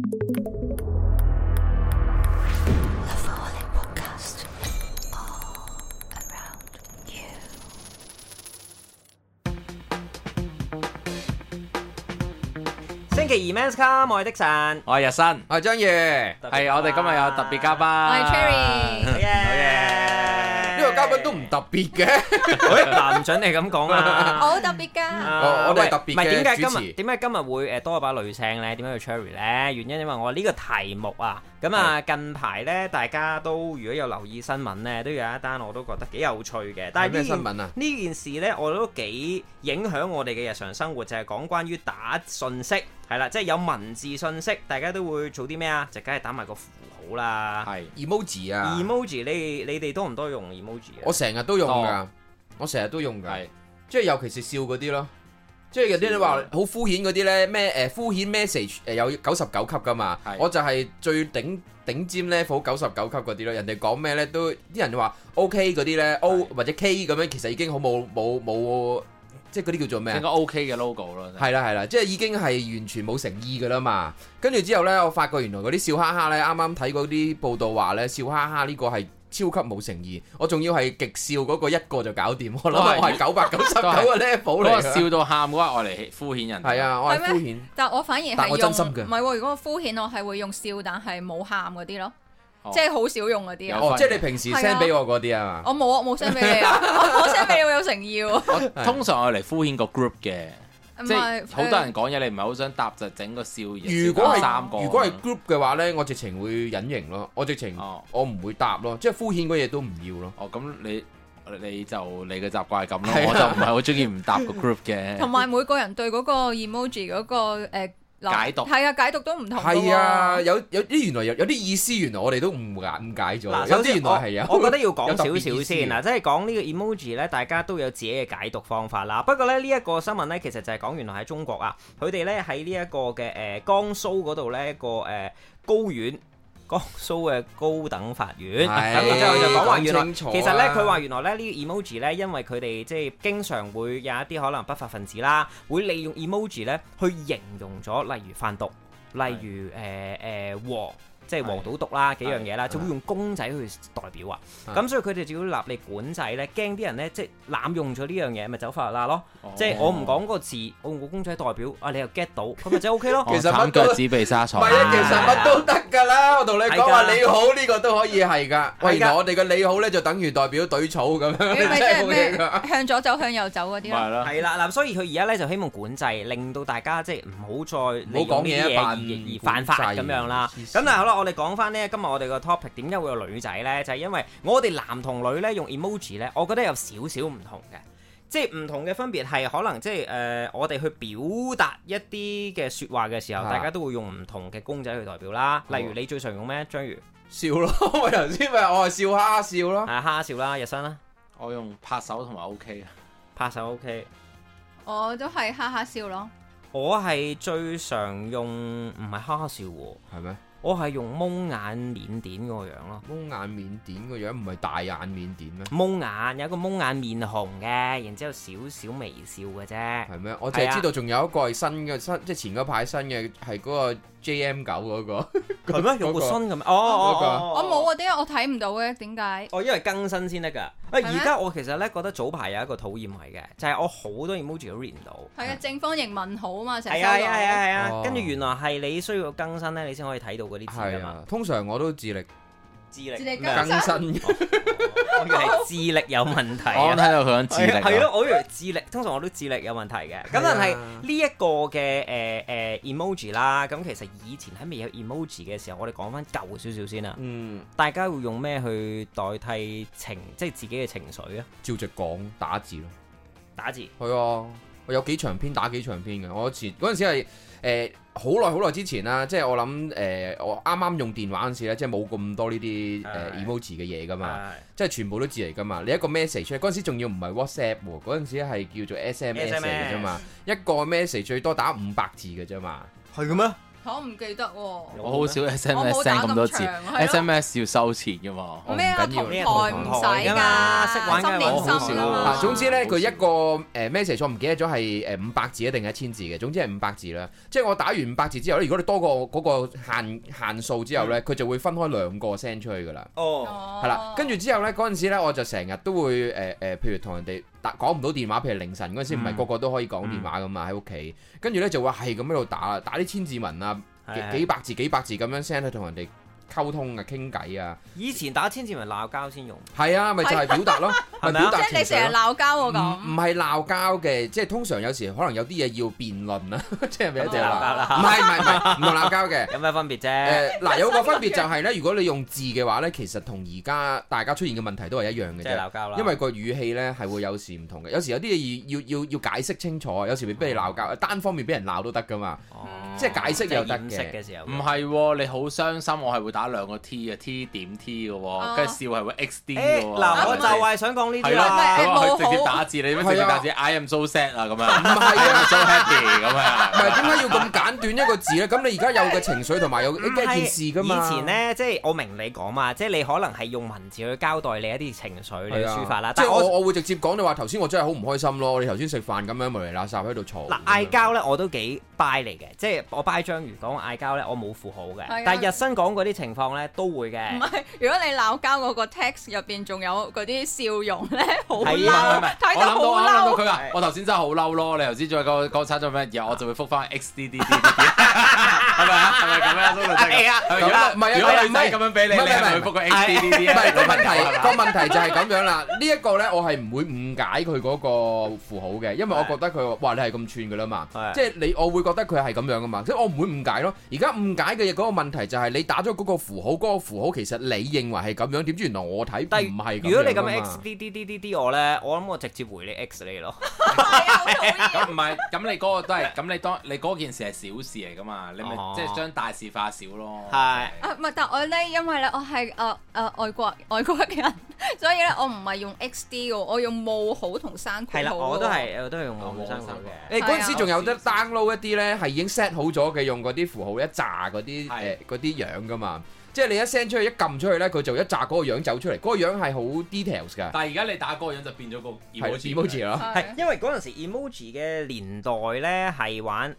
星期二 Men's Come， 我係的神， 我係日新， 我係張宇， 係我哋今日有特別嘉賓， 我係 Cherry， 好嘢！ 呢個嘉賓都唔特別嘅， 嗱唔準你咁講啊！ 我好特別㗎， 我哋係特別嘅主持。 點解今日會多一把女聲咧？點解要 Cherry 咧？原因因為我呢個題目啊，咁啊近排咧大家都如果有留意新聞咧，都有一單我都覺得幾有趣嘅。但係咩新聞啊？ 呢件事咧我都幾影響我哋嘅日常生活，就係講關於打信息。係啦，即係有文字信息，大家都會做啲咩啊？就梗係打埋個符號啦。 係 emoji 啊 ，emoji 你哋多唔多用 emoji 啊？ 我成日都用㗎，我成日都用㗎，即係尤其是笑嗰啲咯。即係有啲你話好敷衍嗰啲咧，咩敷衍 message 有99級㗎嘛？我就係最頂尖 level 99級嗰啲咯。人哋講咩咧都啲人話 OK 嗰啲咧 O 或者 K 咁樣，其實已經好冇。即係嗰啲叫做咩啊？ 應該 OK 嘅 logo 咯。 係啦，即係已經係完全冇誠意㗎啦嘛。跟住之後呢，我發覺原來嗰啲笑哈哈呢，啱啱睇嗰啲報道話呢，笑哈哈呢個係超級冇誠意。我仲要係極笑嗰個一個就搞掂。我諗我係999個 level 嚟。 笑到喊嗰個，我嚟敷衍人。 係啊，我係敷衍。 但我反而係但我真心嘅。 唔係喎，如果我敷衍，我係會用笑，但係冇喊嗰啲咯。即係好少用嗰啲啊！ 即係你平時 send 俾我嗰啲啊嘛？ 我冇啊，冇 send 俾你啊！我 send 俾你會有誠意喎。 我通常我嚟敷衍個 group 嘅，即係好多人講嘢，你唔係好想答就整個笑嘢。如果係 group 嘅話咧，我直情會隱形咯。我直情我唔會答咯，即係敷衍嗰嘢都唔要咯。 哦，咁你就你嘅習慣係咁咯，我就唔係好中意唔答個 group 嘅。 同埋每個人對嗰個 emoji 嗰個解讀係啊，解讀都唔同。 係啊，有啲原來有啲意思，原來我哋都誤解咗。有啲原來係有。 我覺得要講少少先嗱，即係講呢個 emoji 咧，大家都有自己嘅解讀方法啦。不過咧，呢一個新聞咧，其實就係講原來喺中國啊，佢哋咧喺呢一個嘅江蘇嗰度咧一個高院。江蘇嘅高等法院，咁然之後就講話原來，其實咧佢話原來咧呢個 emoji 咧，因為佢哋即係經常會有一啲可能不法分子啦，會利用 emoji 咧去形容咗，例如販毒，例如黃。即係黃賭毒啦，幾樣嘢啦，就會用公仔去代表啊。咁所以佢哋就要立例管制咧，驚啲人咧即係濫用咗呢樣嘢，咪走法律啦咯。即係我唔講個字，我用個公仔代表，你又 get 到，咁咪就 OK 咯。 其實乜腳趾被沙蟲， 唔係啊，其實乜都得㗎啦。我同你講話你好呢個都可以係㗎。喂，原來我哋嘅你好咧就等於代表隊草咁樣， 即係咩向左走向右走嗰啲咯。 係啦，嗱，所以佢而家咧就希望管制，令到大家即係唔好再利用呢啲嘢而犯法咁樣啦。咁但係好啦，我哋講翻呢，今日我哋個 topic 點解會有女仔呢？就係因為我哋男同女呢，用 emoji 呢，我覺得有少少唔同嘅，即係唔同嘅分別係可能即係我哋去表達一啲嘅説話嘅時候，大家都會用唔同嘅公仔去代表啦。例如你最常用咩？章魚笑咯，我頭先咪我係笑哈哈笑咯， 哈哈笑啦。日新啦， 我用拍手同埋 OK 啊， 拍手 OK， 我都係哈哈笑咯。 我係最常用唔係哈哈笑喎， 係咩？ 我係用蒙眼緬甸嗰個樣咯， 蒙眼緬甸個樣唔係大眼緬甸咩？ 蒙眼有一個蒙眼面紅嘅，然之後少少微笑嘅啫。係咩？我淨係知道仲有一個係新嘅，即係前嗰排新嘅係嗰個 JM9 嗰個。 係咩？有個新嘅咩？ 我冇啊，點解我睇唔到嘅？點解？ 因為更新先得㗎。而家我其實咧覺得早排有一個討厭係嘅，就係我好多 emoji 都 read 唔到。 係啊，正方形問號啊嘛，成日收到。係啊。跟住原來係你需要更新咧，你先可以睇到嗰啲字㗎嘛。 通常我都自力更新。 我以為係智力有問題。 我睇到佢講智力。 係咯，我以為智力，通常我都智力有問題嘅。咁但係呢一個嘅emoji 啦，咁其實以前喺未有 emoji 嘅時候，我哋講翻舊少少先啦。大家會用咩去代替即係自己嘅情緒啊？ 照直講打字咯。 打字。 係啊，我有幾長篇打幾長篇嘅。我嗰陣時係好耐之前啦，即係我諗我啱啱用電話嗰陣時咧，即係冇咁多呢啲emoji 嘅嘢噶嘛，即係全部都字嚟噶嘛。你一個 message 嗰陣時仲要唔係 WhatsApp 喎，嗰陣時係叫做 SMS 嚟嘅啫嘛，一個 message 最多打500字嘅啫嘛。 係嘅咩？ 我唔記得喎。 我好少 SMS send 咁多次 ，SMS 要收錢㗎嘛。 咩啊？同台唔使㗎，識玩嘅我好少啊。 總之咧，佢一個message 我唔記得咗係500字定係1000字嘅，總之係500字啦。即係我打完500字之後咧，如果你多過嗰個限數之後咧，佢就會分開2個 send 出去㗎啦。哦，係啦，跟住之後咧嗰陣時咧，我就成日都會譬如同人哋講唔到電話，譬如凌晨嗰陣時，唔係個個都可以講電話㗎嘛，喺屋企。跟住咧就會係咁喺度打啲千字文啊，幾百字咁樣 send 去同人哋溝通啊，傾偈啊。以前打千字文鬧交先用。係啊，咪就係表達咯，係咪啊？即係你成日鬧交喎咁。唔係鬧交嘅，即係通常有時可能有啲嘢要辯論啊，即係咪一定鬧交啦？唔係唔同鬧交嘅。有咩分別啫？嗱，有個分別就係咧，如果你用字嘅話咧，其實同而家大家出現嘅問題都係一樣嘅啫。即係鬧交啦。因為個語氣咧係會有時唔同嘅，有時有啲嘢要解釋清楚，有時未必你鬧交，單方面俾人鬧都得噶嘛。即係解釋又得嘅。唔係喎，你好傷心，我係會打2個 T 嘅 T 點 T 嘅喎，跟住笑係會 XD 嘅喎。嗱，我就係想講呢啲啦。佢直接打字，你點樣直接打字 ？I am so sad 啊咁樣。唔係啊，so happy 咁啊。唔係點解要咁簡短一個字咧？咁你而家有嘅情緒同埋有一件事噶嘛？以前咧，即係我明你講嘛，即係你可能係用文字去交代你一啲情緒你嘅抒發啦。即係我會直接講你話頭先我真係好唔開心咯，你頭先食飯咁樣無厘垃圾喺度嘈。嗱，嗌交咧我都幾 buy 嚟嘅，即係我 buy 章魚講嗌交咧，我冇符號嘅，但係日新講嗰啲情況咧都會嘅。唔係，如果你鬧交嗰個 text 入邊仲有嗰啲笑容咧，好嬲，睇到好嬲。我諗到佢話：我頭先真係好嬲咯！你頭先再講差咗咩嘢，我就會覆翻 XDD，係咪啊？係咪咁樣？係啊，係啊。唔係啊，如果女仔咁樣俾你，你係咪會覆個 XDD？唔係個問題就係咁樣啦。呢一個咧，我係唔會誤解佢嗰個符號嘅，因為我覺得佢話：哇，你係咁串㗎啦嘛，即係我會覺得佢係咁樣㗎嘛，即係我唔會誤解咯。而家誤解嘅嘢嗰個問題就係你打咗嗰個符號，嗰個符號其實你認為係咁樣，點知原來我睇唔係咁樣。如果你咁 XDDDD 我咧，我諗我直接回你 X 你咯。咁唔係，咁你嗰個都係，咁你嗰件事係小事嚟噶嘛？你咪即係將大事化小咯。係。唔係，但我咧，因為咧，我係外國人，所以咧，我唔係用 XD 嘅，我用冒號同刪括號。係啦，我都係用冒號刪括嘅。誒嗰陣時仲有得 download 一啲咧，係已經 set 好咗嘅，用嗰啲符號一紮嗰啲嗰啲樣噶嘛。即係你一 send 出去一撳出去咧，佢就一紮嗰個樣走出嚟，嗰個樣係好 details 㗎。但係而家你打嗰個樣就變咗個 emoji 咯。係因為嗰陣時 emoji 嘅年代咧係玩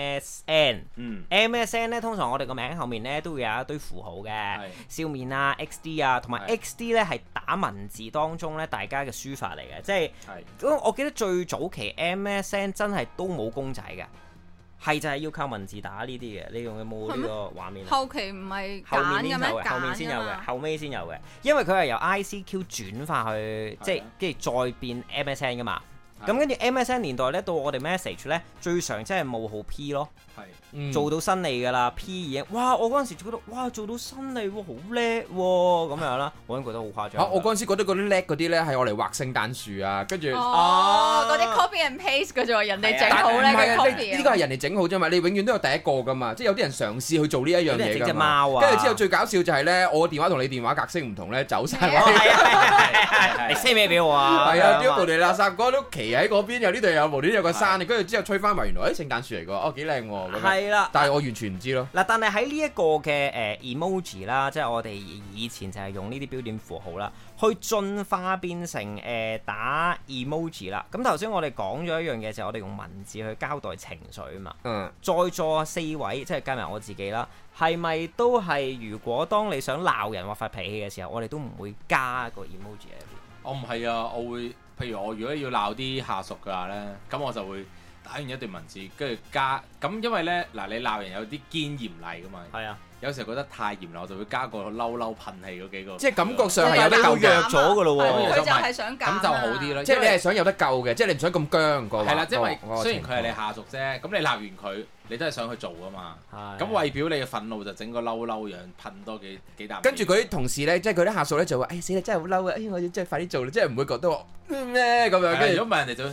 MSN。MSN 咧通常我哋個名後面咧都會有一堆符號嘅，笑面啊、XD 啊，同埋 XD 咧係打文字當中咧大家嘅書法嚟嘅，即係我記得最早期 MSN 真係都冇公仔嘅。係就係要靠文字打呢啲嘅，你用有冇呢個畫面？後期唔係揀嘅咩？後面先有嘅，後尾先有嘅，因為佢係由 ICQ 轉化去，即係跟住再變 MSN 噶嘛。咁跟住 MSN 年代咧，到我哋 message 咧，最常即係冒號 P 咯。做到新嚟㗎啦 ，P 已經，哇！我嗰陣時就覺得，哇，做到新嚟喎，好叻喎，咁樣啦，我已經覺得好誇張。我嗰陣時覺得嗰啲叻嗰啲咧係我嚟畫聖誕樹啊，跟住嗰啲 copy and paste 嘅啫，人哋整好咧嘅 copy。呢個係人哋整好啫嘛，你永遠都有第一個㗎嘛，即係有啲人嘗試去做呢一樣嘢㗎嘛。跟住之後最搞笑就係咧，我電話同你電話格式唔同咧，走晒。你 send 咩俾我啊？係啊，啲無厘垃圾哥都企喺嗰邊，又呢度有無端有個山，跟住之後吹翻埋，原來聖誕樹嚟㗎，哦幾靚喎。係啦，但係我完全唔知咯。嗱，但係喺呢一個嘅emoji 啦，即係我哋以前就係用呢啲標點符號啦，去進化變成打 emoji 啦。咁頭先我哋講咗一樣嘢，就係我哋用文字去交代情緒啊嘛。在座4位，即係加埋我自己啦，係咪都係如果當你想鬧人或發脾氣嘅時候，我哋都唔會加個 emoji 喺入邊？我唔係啊，我會，譬如我如果要鬧啲下屬嘅話咧，咁我就會打完一段文字，跟住加咁，因為咧嗱，你鬧人有啲堅嚴厲噶嘛，係啊，有時候覺得太嚴厲，我就會加個嬲噴氣嗰幾個，即係感覺上係有得夠弱咗噶咯喎，佢就係想咁就好啲咯，即係你係想有得救嘅，即係你唔想咁僵個。係啦，因為雖然佢係你下屬啫，咁你鬧完佢，你都係想去做噶嘛，咁為表你嘅憤怒就整個嬲樣噴多幾啖。跟住佢啲同事咧，即係佢啲下屬咧就話：誒死啦，真係好嬲啊！我要真係快啲做啦，即係唔會覺得咩咁樣。跟住如果唔係人哋就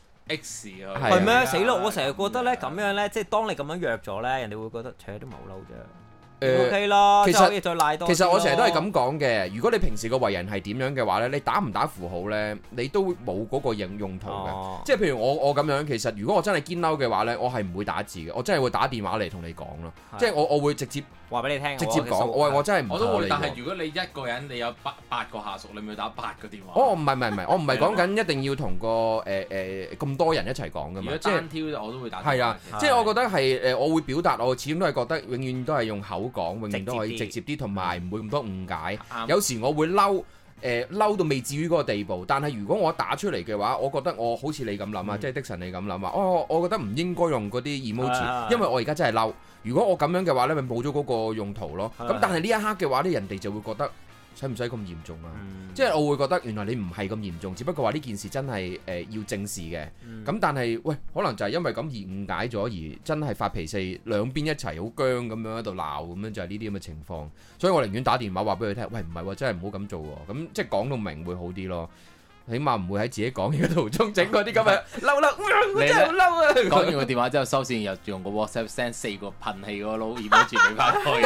X 啊，係咩？死咯！我成日覺得咧咁樣咧，即係當你咁樣約咗咧，人哋會覺得，都唔係好嬲啫。 OK 啦， 其實可以再賴多。 其實我成日都係咁講嘅，如果你平時個為人係點樣嘅話咧，你打唔打符號咧，你都冇嗰個用途嘅。即係譬如我咁樣，其實如果我真係堅嬲嘅話咧，我係唔會打字嘅，我真係會打電話嚟同你講咯。即係我會直接話俾你聽， 直接講。我真係唔我都會，但係如果你一個人你有八個下屬，你咪打8個電話。 唔係，我唔係講緊一定要同個咁多人一齊講噶嘛。 如果單挑我都會打。 係啊，即係我覺得係我會表達，我始終都係覺得永遠都係用口講，永遠都可以直接啲，同埋唔會咁多誤解。有時我會嬲。嬲到未至於嗰個地步，但係如果我打出嚟嘅話，我覺得我好似你咁諗啊，即係的神你咁諗啊，我覺得唔應該用嗰啲 emoji，因為我而家真係嬲。如果我咁樣嘅話呢，咪冇咗嗰個用途咯。咁但係呢一刻嘅話呢，人哋就會覺得使唔使咁嚴重啊？即係我會覺得原來你唔係咁嚴重，只不過話呢件事真係要正視嘅。咁但係喂，可能就係因為咁而誤解咗，而真係發脾氣，兩邊一齊好僵咁樣喺度鬧，咁樣就係呢啲咁嘅情況。所以我寧願打電話話俾佢聽，喂，唔係喎，真係唔好咁做喎。咁即係講到明會好啲咯。起碼唔會喺自己講嘢嘅途中整嗰啲咁嘅嬲，我真係好嬲啊！ 講完個電話之後收線，又用個 WhatsApp send 4個噴氣嗰個 emoji 俾翻佢。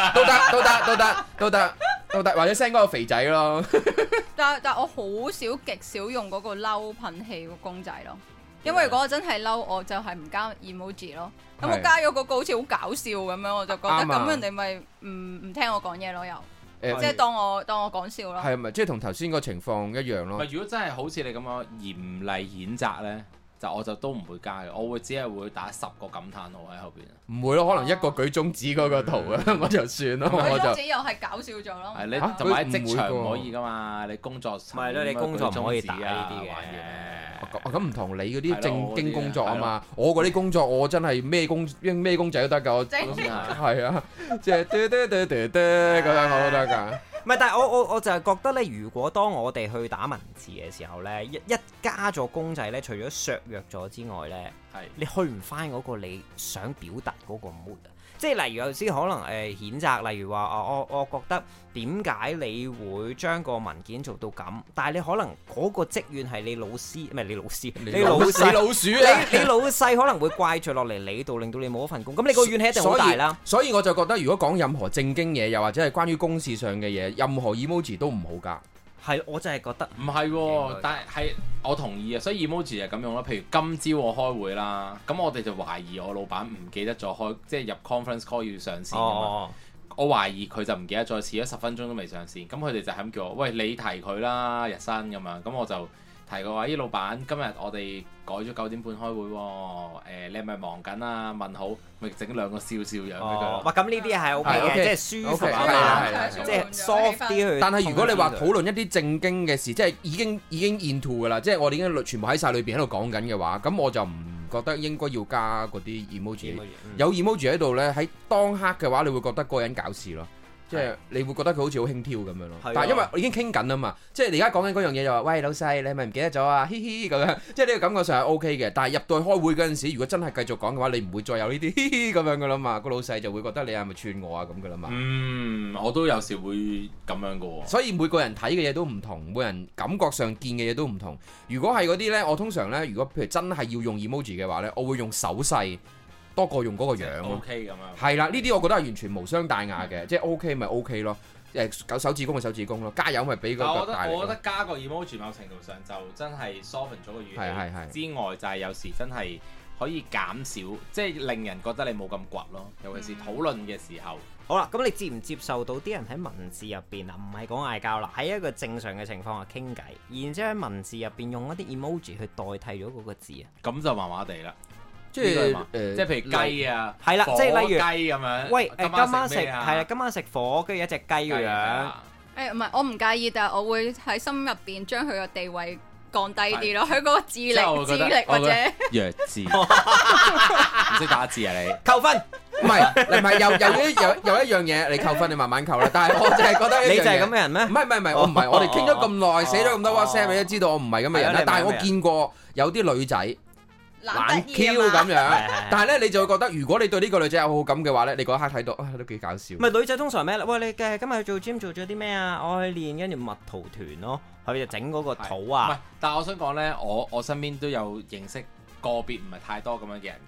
都得，或者 send 嗰個肥仔咯。 但我好少極少用嗰個嬲噴氣個公仔咯，因為如果我真係嬲，我就係唔加 emoji 咯。咁我加咗嗰個好似好搞笑咁樣，我就覺得咁人哋咪唔聽我講嘢咯又。即係當我講笑咯， 係咪即係同頭先個情況一樣咯？ 如果真係好似你咁樣嚴厲譴責咧，我就都唔會加嘅，我會只係會打10個感嘆號喺後邊。 唔會咯，可能一個舉中指嗰個圖啊，我就算咯。 舉中指又係搞笑咗咯。 係你同埋職場唔可以噶嘛，你工作唔係咯，你工作唔可以打呢啲嘅。 咁唔同你嗰啲正經工作啊嘛，我嗰啲工作我真係咩公仔都得㗎，我係啊，即係咁樣我都得㗎。 唔係，但係我就係覺得咧，如果當我哋去打文字嘅時候咧，一加咗公仔咧，除咗削弱咗之外咧，你去唔翻嗰個你想表達嗰個 mood 啊。即係例如有時可能譴責，例如話我覺得點解你會將個文件做到咁？但係你可能嗰個積怨係你老師，唔係你老師，你老鼠啊！你老細可能會怪罪落嚟你度，令到你冇一份工。咁你個怨氣一定好大啦。 所以我就覺得，如果講任何正經嘢，又或者係關於公事上嘅嘢，任何 emoji 都唔好加。係， 我真係覺得唔係，但係我同意啊。所以 emoji 係咁用啦。譬如今朝我開會啦，咁我哋就懷疑我老闆唔記得咗即係入 conference call 要上線㗎嘛。我懷疑佢就唔記得咗，遲咗10分鐘都未上線。咁佢哋就係咁叫我，喂，你提佢啦，日新咁樣。咁我就提佢話：咦，老闆，今日我哋改咗9點半開會喎。你係咪忙緊啊？問好，咪整2個笑樣俾佢。 哇，咁呢啲係 OK 嘅，即係舒服啊，即係 soft 啲去。 但係如果你話討論一啲正經嘅事，即係已經 into 㗎啦，即係我哋已經全部喺晒裏邊喺度講緊嘅話，咁我就唔覺得應該要加嗰啲 emoji。有 emoji 喺度呢，喺當刻嘅話，你會覺得個人搞事咯。即係你會覺得佢好似好輕佻咁樣咯，但係因為我已經傾緊啊嘛，即係你而家講緊嗰樣嘢就話，喂，老細，你係咪唔記得咗啊？嘻嘻咁樣，即係呢個感覺上係 OK 嘅。但係入到去開會嗰陣時，如果真係繼續講嘅話，你唔會再有呢啲嘻嘻咁樣噶啦嘛。個老細就會覺得你係咪串我啊咁噶啦嘛。 我都有時會咁樣噶喎。 所以每個人睇嘅嘢都唔同，每人感覺上見嘅嘢都唔同。如果係嗰啲呢，我通常呢，如果譬如真係要用 emoji 嘅話呢，我會用手勢多過用嗰個樣咯。 OK 咁樣。係啦，呢啲我覺得係完全無傷大雅嘅，即係 OK 咪 OK 咯。搞手指公咪手指公咯，加油咪俾個大力。 我覺得加個 emoji 某程度上就真係 soften 咗個語氣之外，就係有時真係可以減少，即係令人覺得你冇咁倔咯。尤其是討論嘅時候。 好啦，咁你接唔接受到啲人喺文字入邊啊，唔係講嗌交啦，喺一個正常嘅情況下傾偈，然之後喺文字入邊用一啲 emoji 去代替咗嗰個字啊？ 咁就麻麻地啦。即係譬如雞啊， 係啦，即係例如雞咁樣。 喂，今晚食係啊，今晚食火，跟住一隻雞嘅樣。 唔係，我唔介意，但係我會喺心入邊將佢個地位降低啲咯。佢嗰個智力或者弱智，唔識打字啊你？ 扣分。 唔係，有一樣嘢你扣分，你慢慢扣啦。但係我淨係覺得你就係咁嘅人咩？ 唔係，我唔係。我哋傾咗咁耐，寫咗咁多 WhatsApp，你都知道我唔係咁嘅人啦。但係我見過有啲女仔。懶 Q 咁樣，但係咧你就會覺得，如果你對呢個女仔有好感嘅話咧，你嗰一刻睇到都幾搞笑。 唔係女仔通常咩？喂，你今日做 gym 做咗啲咩啊？我去練跟住蜜桃團咯，佢就整嗰個肚啊。 唔係，但係我想講咧，我身邊都有認識個別唔係太多咁樣嘅人嘅，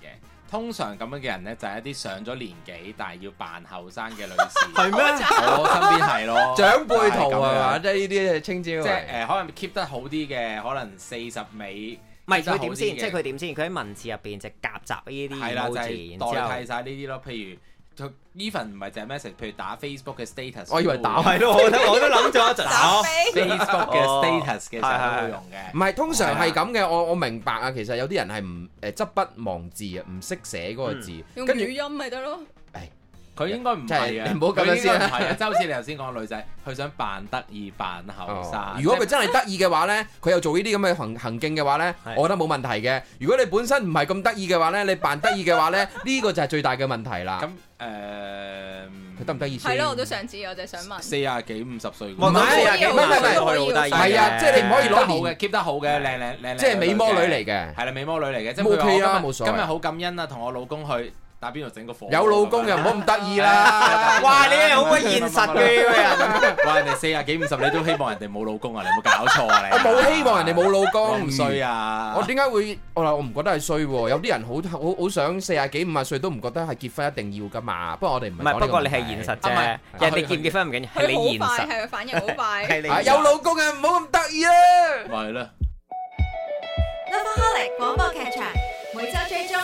通常咁樣嘅人咧，就係一啲上咗年紀但係要扮後生嘅女士。 係咩？ 我身邊係咯， 長輩圖啊嘛，即係呢啲稱之為。 即係可能 keep 得好啲嘅，可能40尾。 唔係佢點先？即係佢點先？佢喺文字入邊就夾雜呢啲 emoji， 代替晒呢啲咯。譬如even 唔係淨係 message，譬如打 Facebook 嘅 status。 我以為打係咯，我都諗咗一陣。 打 Facebook 嘅 status 嘅時候都會用嘅。 唔係通常係咁嘅，我明白啊。其實有啲人係唔執筆忘字啊，唔識寫嗰個字， 用語音咪得咯。 佢應該唔係嘅， 你唔好咁樣先。 係啊，即係好似你頭先講個女仔，佢想扮得意扮後生。 如果佢真係得意嘅話咧，佢又做呢啲咁嘅行徑嘅話咧，我覺得冇問題嘅。如果你本身唔係咁得意嘅話咧，你扮得意嘅話咧，呢個就係最大嘅問題啦。 咁佢得唔得意先？ 係咯，我都想知，我就想問。 40幾50歲， 唔係40幾50歲都可以好得意。 係啊，即係你唔可以攞好嘅 keep 得好嘅，靚， 即係美魔女嚟嘅。 係啦，美魔女嚟嘅，即係 OK 啊，冇所謂。 今日好感恩啊，同我老公去打邊爐整個火。 有老公又唔好咁得意啦！ 哇，你係好鬼現實嘅呢個人。 哇，人哋40幾50，你都希望人哋冇老公啊？你有冇搞錯啊？你我冇希望人哋冇老公， 唔衰啊！ 我點解會？我唔覺得係衰喎。有啲人好想40幾50歲都唔覺得係結婚一定要噶嘛。不過我哋唔係。 不過你係現實啫。人哋結唔結婚唔緊要，係你現實。 係反應好快。 係你有老公啊，唔好咁得意啊！ 咪係啦。 Lovaholic 廣播劇場每周追蹤。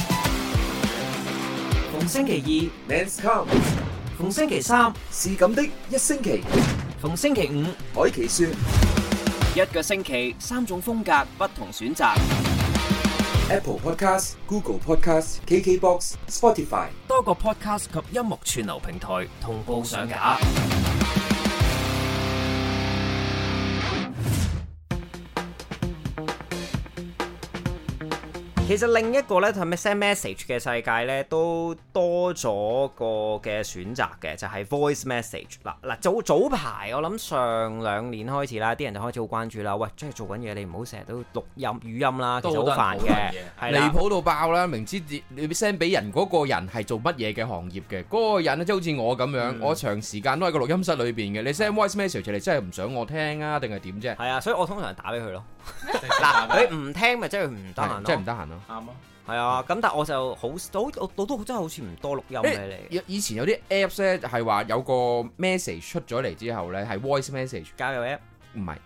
逢星期二 Men's Come， 逢星期三是咁的一星期， 逢星期五海奇說一個星期3種風格不同選擇。 Apple Podcast、Google Podcast、KKBox、Spotify 多個 podcast 及音樂串流平台同步上架。其實另一個咧，係咪 send message 嘅世界咧，都多咗個嘅選擇嘅，就係 voice message。嗱早排我諗上2年開始啦，啲人就開始好關注啦。喂，即係做緊嘢，你唔好成日都錄音語音啦，其實好煩嘅， 離譜到爆啦！明知你 send 俾人嗰個人係做乜嘢嘅行業嘅，嗰個人咧即係好似我咁樣，我長時間都喺個錄音室裏邊嘅。你 send voice message 你真係唔想我聽啊，定係點啫？ 係啊，所以我通常打俾佢咯。嗱，佢唔聽咪即係佢唔得閒咯， 即係唔得閒咯。 啱啊， 係啊，咁但係我就好我都真係好似唔多錄音俾你。 以前有啲 apps 咧係話有個 message 出咗嚟之後咧係 voice message 交友 app 唔係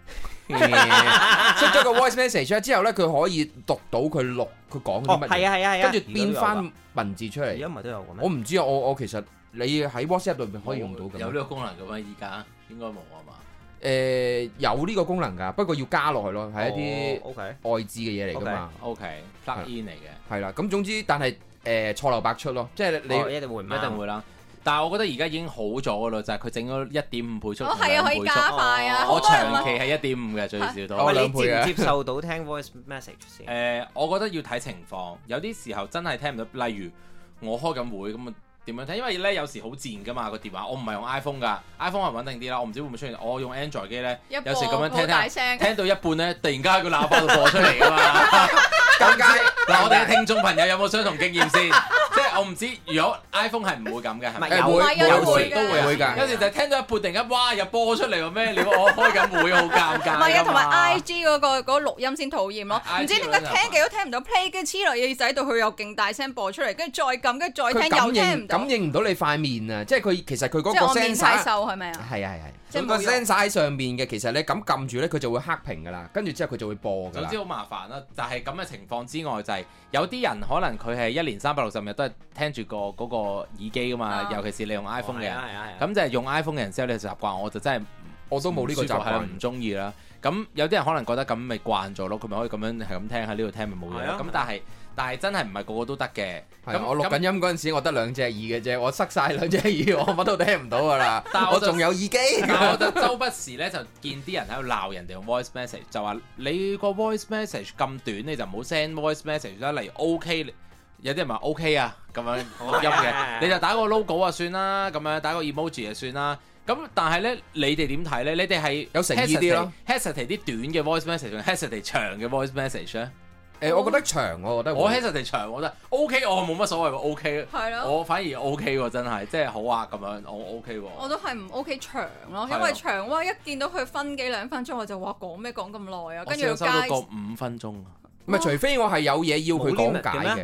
出咗個 voice message 之後咧佢可以讀到佢講啲乜嘢， 係啊， 跟住變翻文字出嚟。 而家唔係都有嘅咩？ 我唔知啊，我其實你喺 WhatsApp 裏邊可以用到嘅。 有呢個功能嘅咩？依家應該冇啊嘛。 有呢個功能㗎，不過要加落去咯，係一啲外置嘅嘢嚟㗎嘛。 OK，plug in 嚟嘅。 係啦，咁總之，但係錯漏百出咯，即係你一定會啦。 但係我覺得而家已經好咗㗎啦，就係佢整咗1.5倍速。 係啊，可以加快啊！ 我長期係1.5嘅最少都。 你接唔接受到聽 voice message 先？ 我覺得要睇情況，有啲時候真係聽唔到。例如我開緊會咁啊。點樣聽？因為咧有時好賤噶嘛個電話，我唔係用 iPhone 噶 ，iPhone 係穩定啲啦。我唔知會唔會出現，我用 Android 機咧，有時咁樣聽到一半咧，突然間喺個喇叭度播出嚟噶嘛。咁解嗱，我哋嘅聽眾朋友有冇相同經驗先？即係我唔知，如果 iPhone 係唔會咁嘅，係咪？ 有時都會㗎。 有時就聽到一半，突然間哇又播出嚟喎咩？你我開緊會好尷尬。 唔係啊，同埋 IG 嗰個錄音先討厭咯。唔知點解聽幾都聽唔到 play，跟住黐落耳仔度，佢又勁大聲播出嚟，跟住再撳，跟住再聽又聽唔到。 感應唔到你塊面啊！即係佢其實佢嗰個 sensor 即係我面太瘦係咪啊？ 係。佢個 sensor 喺上面嘅，其實你咁撳住咧，佢就會黑屏噶啦。跟住之後佢就會播噶啦。總之好麻煩啦。但係咁嘅情況之外，就係有啲人可能佢係1年365日都係聽住嗰個耳機噶嘛。尤其是你用 iPhone 嘅人，咁就係用 iPhone 嘅人之後你習慣，我就真係我都冇呢個習慣，唔中意啦。咁有啲人可能覺得咁咪慣咗咯，佢咪可以咁樣係咁聽喺呢度聽咪冇嘢。咁但係真係唔係個個都得嘅。咁我錄緊音嗰陣時，我得2隻耳嘅啫，我塞晒2隻耳，我乜都聽唔到噶啦。但係我仲有耳機。 我就周不時咧就見啲人喺度鬧人哋用 voice message，就話你個 voice message 咁短，你就唔好 send voice message 啦。例如 OK， 有啲人話 OK 啊咁樣錄音嘅，你就打個 logo 啊算啦，咁樣打個 emoji 就算啦。咁但係咧，你哋點睇咧？你哋係有誠意啲咯 ，hesitate 啲短嘅 voice message 定 hesitate 長嘅 voice message 咧？ 我覺得長，我覺得我 hesitate 長，我覺得 OK， 我冇乜所謂喎 OK。係咯。我反而 OK 喎，真係，即係好啊咁樣，我 OK 喎。我都係唔 OK 長咯，因為長哇一見到佢分幾2分鐘，我就話講咩講咁耐啊，跟住又加。我收到個5分鐘啊！唔係，除非我係有嘢要佢講解嘅。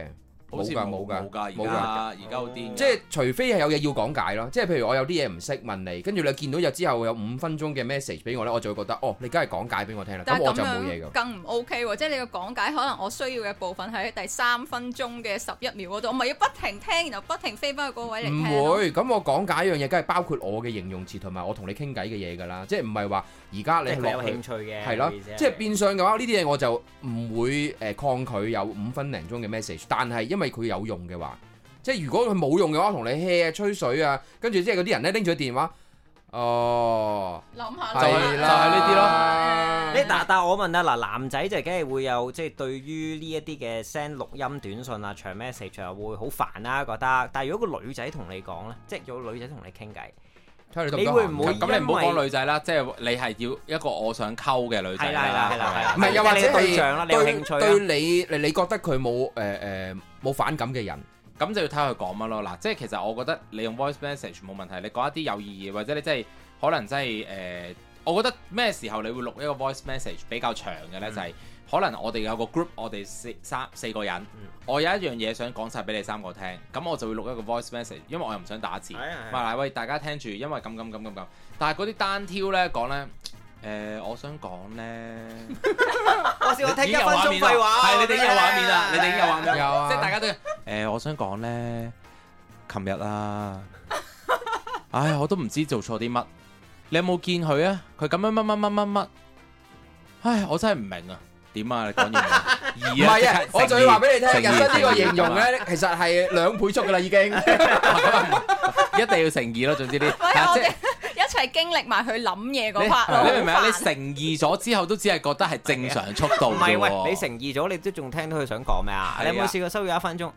好似冇㗎，而家好癲。 即係除非係有嘢要講解咯，即係譬如我有啲嘢唔識問你，跟住你見到有之後有5分鐘嘅 message 俾我咧，我就會覺得哦，你梗係講解俾我聽啦，咁我就冇嘢㗎。 更唔 OK 喎，即係你嘅講解可能我需要嘅部分喺第3分鐘嘅11秒嗰度，我咪要不停聽，然後不停飛翻去嗰個位嚟聽。 唔會，咁我講解一樣嘢，梗係包括我嘅形容詞同埋我同你傾偈嘅嘢㗎啦，即係唔係話而家你落去有興趣嘅係咯，即係變相嘅話呢啲嘢我就唔會抗拒有5分零鐘嘅 message， 但係因為佢有用嘅話，即係如果佢冇用嘅話，同你 hea 吹水啊，跟住即係嗰啲人咧拎住個電話， 諗下就係呢啲咯。 但我問啊，嗱，男仔就梗係會有即係對於呢一啲嘅 send 錄音短信啊、長 message 啊會好煩啦覺得，但係如果個女仔同你講咧，即係有女仔同你傾偈。你會唔會咁？你唔好講女仔啦，即係你係要一個我想溝嘅女仔啦。 係啦， 唔係又或者對象啦，你有興趣對你覺得佢冇反感嘅人， 咁就要睇佢講乜咯。嗱，即係其實我覺得你用 voice message 冇問題，你講一啲有意義，或者你真係可能真係我覺得咩時候你會錄一個 voice message 比較長嘅咧，就係可能我哋有個 group，我哋四個人，我有一樣嘢想講晒俾你3個聽，咁我就會錄一個 voice message，因為我又唔想打字，嗱喂大家聽住，因為咁，但係嗰啲單挑咧講咧，我想講咧， 我試過聽1分鐘廢話， 係你哋已經有畫面啦，你哋已經有畫面，即係大家都我想講咧，琴日啊，唉我都唔知做錯啲乜，你有冇見佢啊？佢咁樣乜，唉我真係唔明啊！點啊？你講完唔係啊！我就要話俾你聽，人生呢個形容咧，其實係2倍速噶啦，已經一定要乘2咯。總之呢， 我哋一齊經歷埋佢諗嘢嗰 part 你明唔明啊？你乘2咗之後，都只係覺得係正常速度。 唔係喂，你乘2咗，你都仲聽到佢想講咩啊？你有冇試過收咗1分鐘？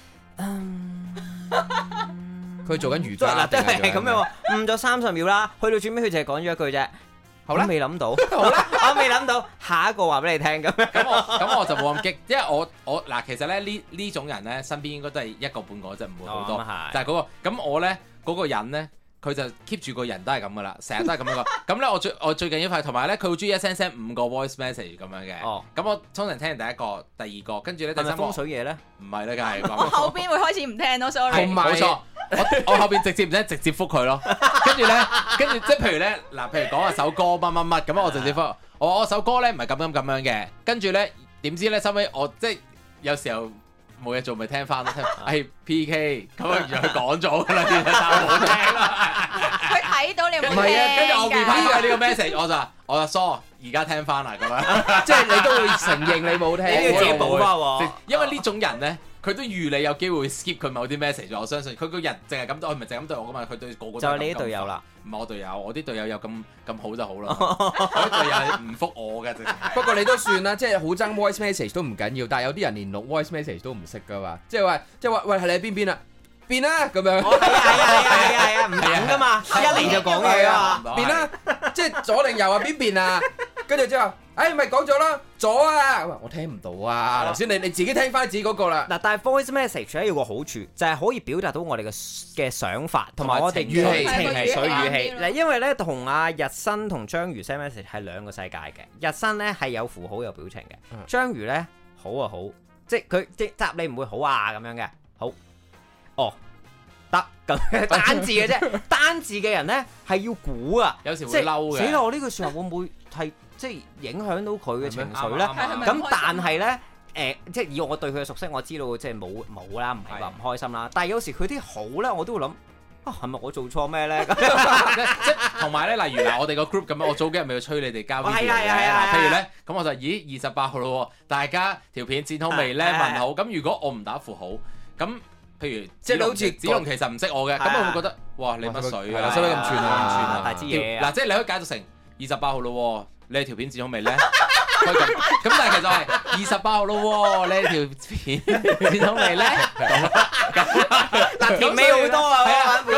佢做緊瑜伽啦， 真係咁樣誤咗30秒啦，去到最尾佢就係講咗一句啫。好啦，未諗到，好啦，我未諗到，下一個話俾你聽咁樣。 咁我就冇咁激，因為我嗱，其實咧呢種人咧，身邊應該都係一個半個啫，唔會好多。但係嗰個咁我咧嗰個人咧，佢就 keep 住個人都係咁噶啦，成日都係咁樣個。咁咧我最近一塊，同埋咧佢好中意一聲5個 voice message 咁樣嘅。咁我通常聽完第一個、第二個，跟住咧第三個。係咪風水嘢咧？唔係咧，梗係。 我後邊會開始唔聽咯，sorry。 冇錯。我後邊直接唔使直接覆佢咯，跟住即係譬如咧嗱，譬如講下首歌乜咁我直接覆我首歌咧唔係咁樣嘅，跟住咧點知咧收尾我即係有時候冇嘢做咪聽翻咯，係 PK 咁啊，原來佢講咗㗎啦，但係我冇聽啦。 佢睇到你冇聽㗎。 唔係啊，跟住我 repeat 嘅呢個 message，我就疏而家聽翻啦咁樣， 即係你都會承認你冇聽， 你要自己補翻喎。 因為呢種人咧。佢都預你有機會 skip 佢某啲 message， 我相信佢個人淨係咁對，佢唔係淨係咁對我噶嘛，佢對個個都就係你啲隊友啦， 唔係我隊友，我啲隊友有咁好就好啦，我啲隊友係唔覆我嘅， 不過你都算啦，即係好憎 voice message 都唔緊要，但係有啲人連錄 voice message 都唔識噶嘛，即係話喂係你喺邊啊？變啦咁樣， 係啊，唔等噶嘛，一嚟就講嘢啊， 變啦，即係左定右啊？邊邊啊？跟住之後，咪講咗啦，左啊，我聽唔到啊，頭先你自己聽翻自己嗰個啦。 嗱，但係 voice message 咧有個好處，就係可以表達到我哋嘅想法，同埋我哋語氣、 情緒語氣。嗱，因為咧同阿日新同章魚 send message 係兩個世界嘅，日新咧係有符號有表情嘅，章魚咧好啊好，即係佢即答你唔會好啊咁樣嘅，好。哦，得咁單字嘅啫，單字嘅人咧係要估啊， 有時會嬲嘅。 死啦！我呢句説話會唔會係即係影響到佢嘅情緒咧？咁但係咧，即係以我對佢嘅熟悉，我知道即係冇啦，唔係話唔開心啦。但係有時佢啲好咧，我都會諗啊，係咪我做錯咩咧？即係同埋咧，例如嗱，我哋個 group 咁樣，我早幾日咪要催你哋交 video 嘅。譬如咧，咁我就28號咯，大家條片剪好未咧？問好。咁如果我唔打符號，咁譬如即係你好似子龍其實唔識我嘅，咁我會覺得哇你乜水啊？ 使乜咁串啊？ 大支嘢啊！ 嗱，即係你可以解讀成28號咯，你條片剪好未咧？咁但係其實係28號咯，你條片剪好未咧？ 但甜味好多啊！ 咁所以咧，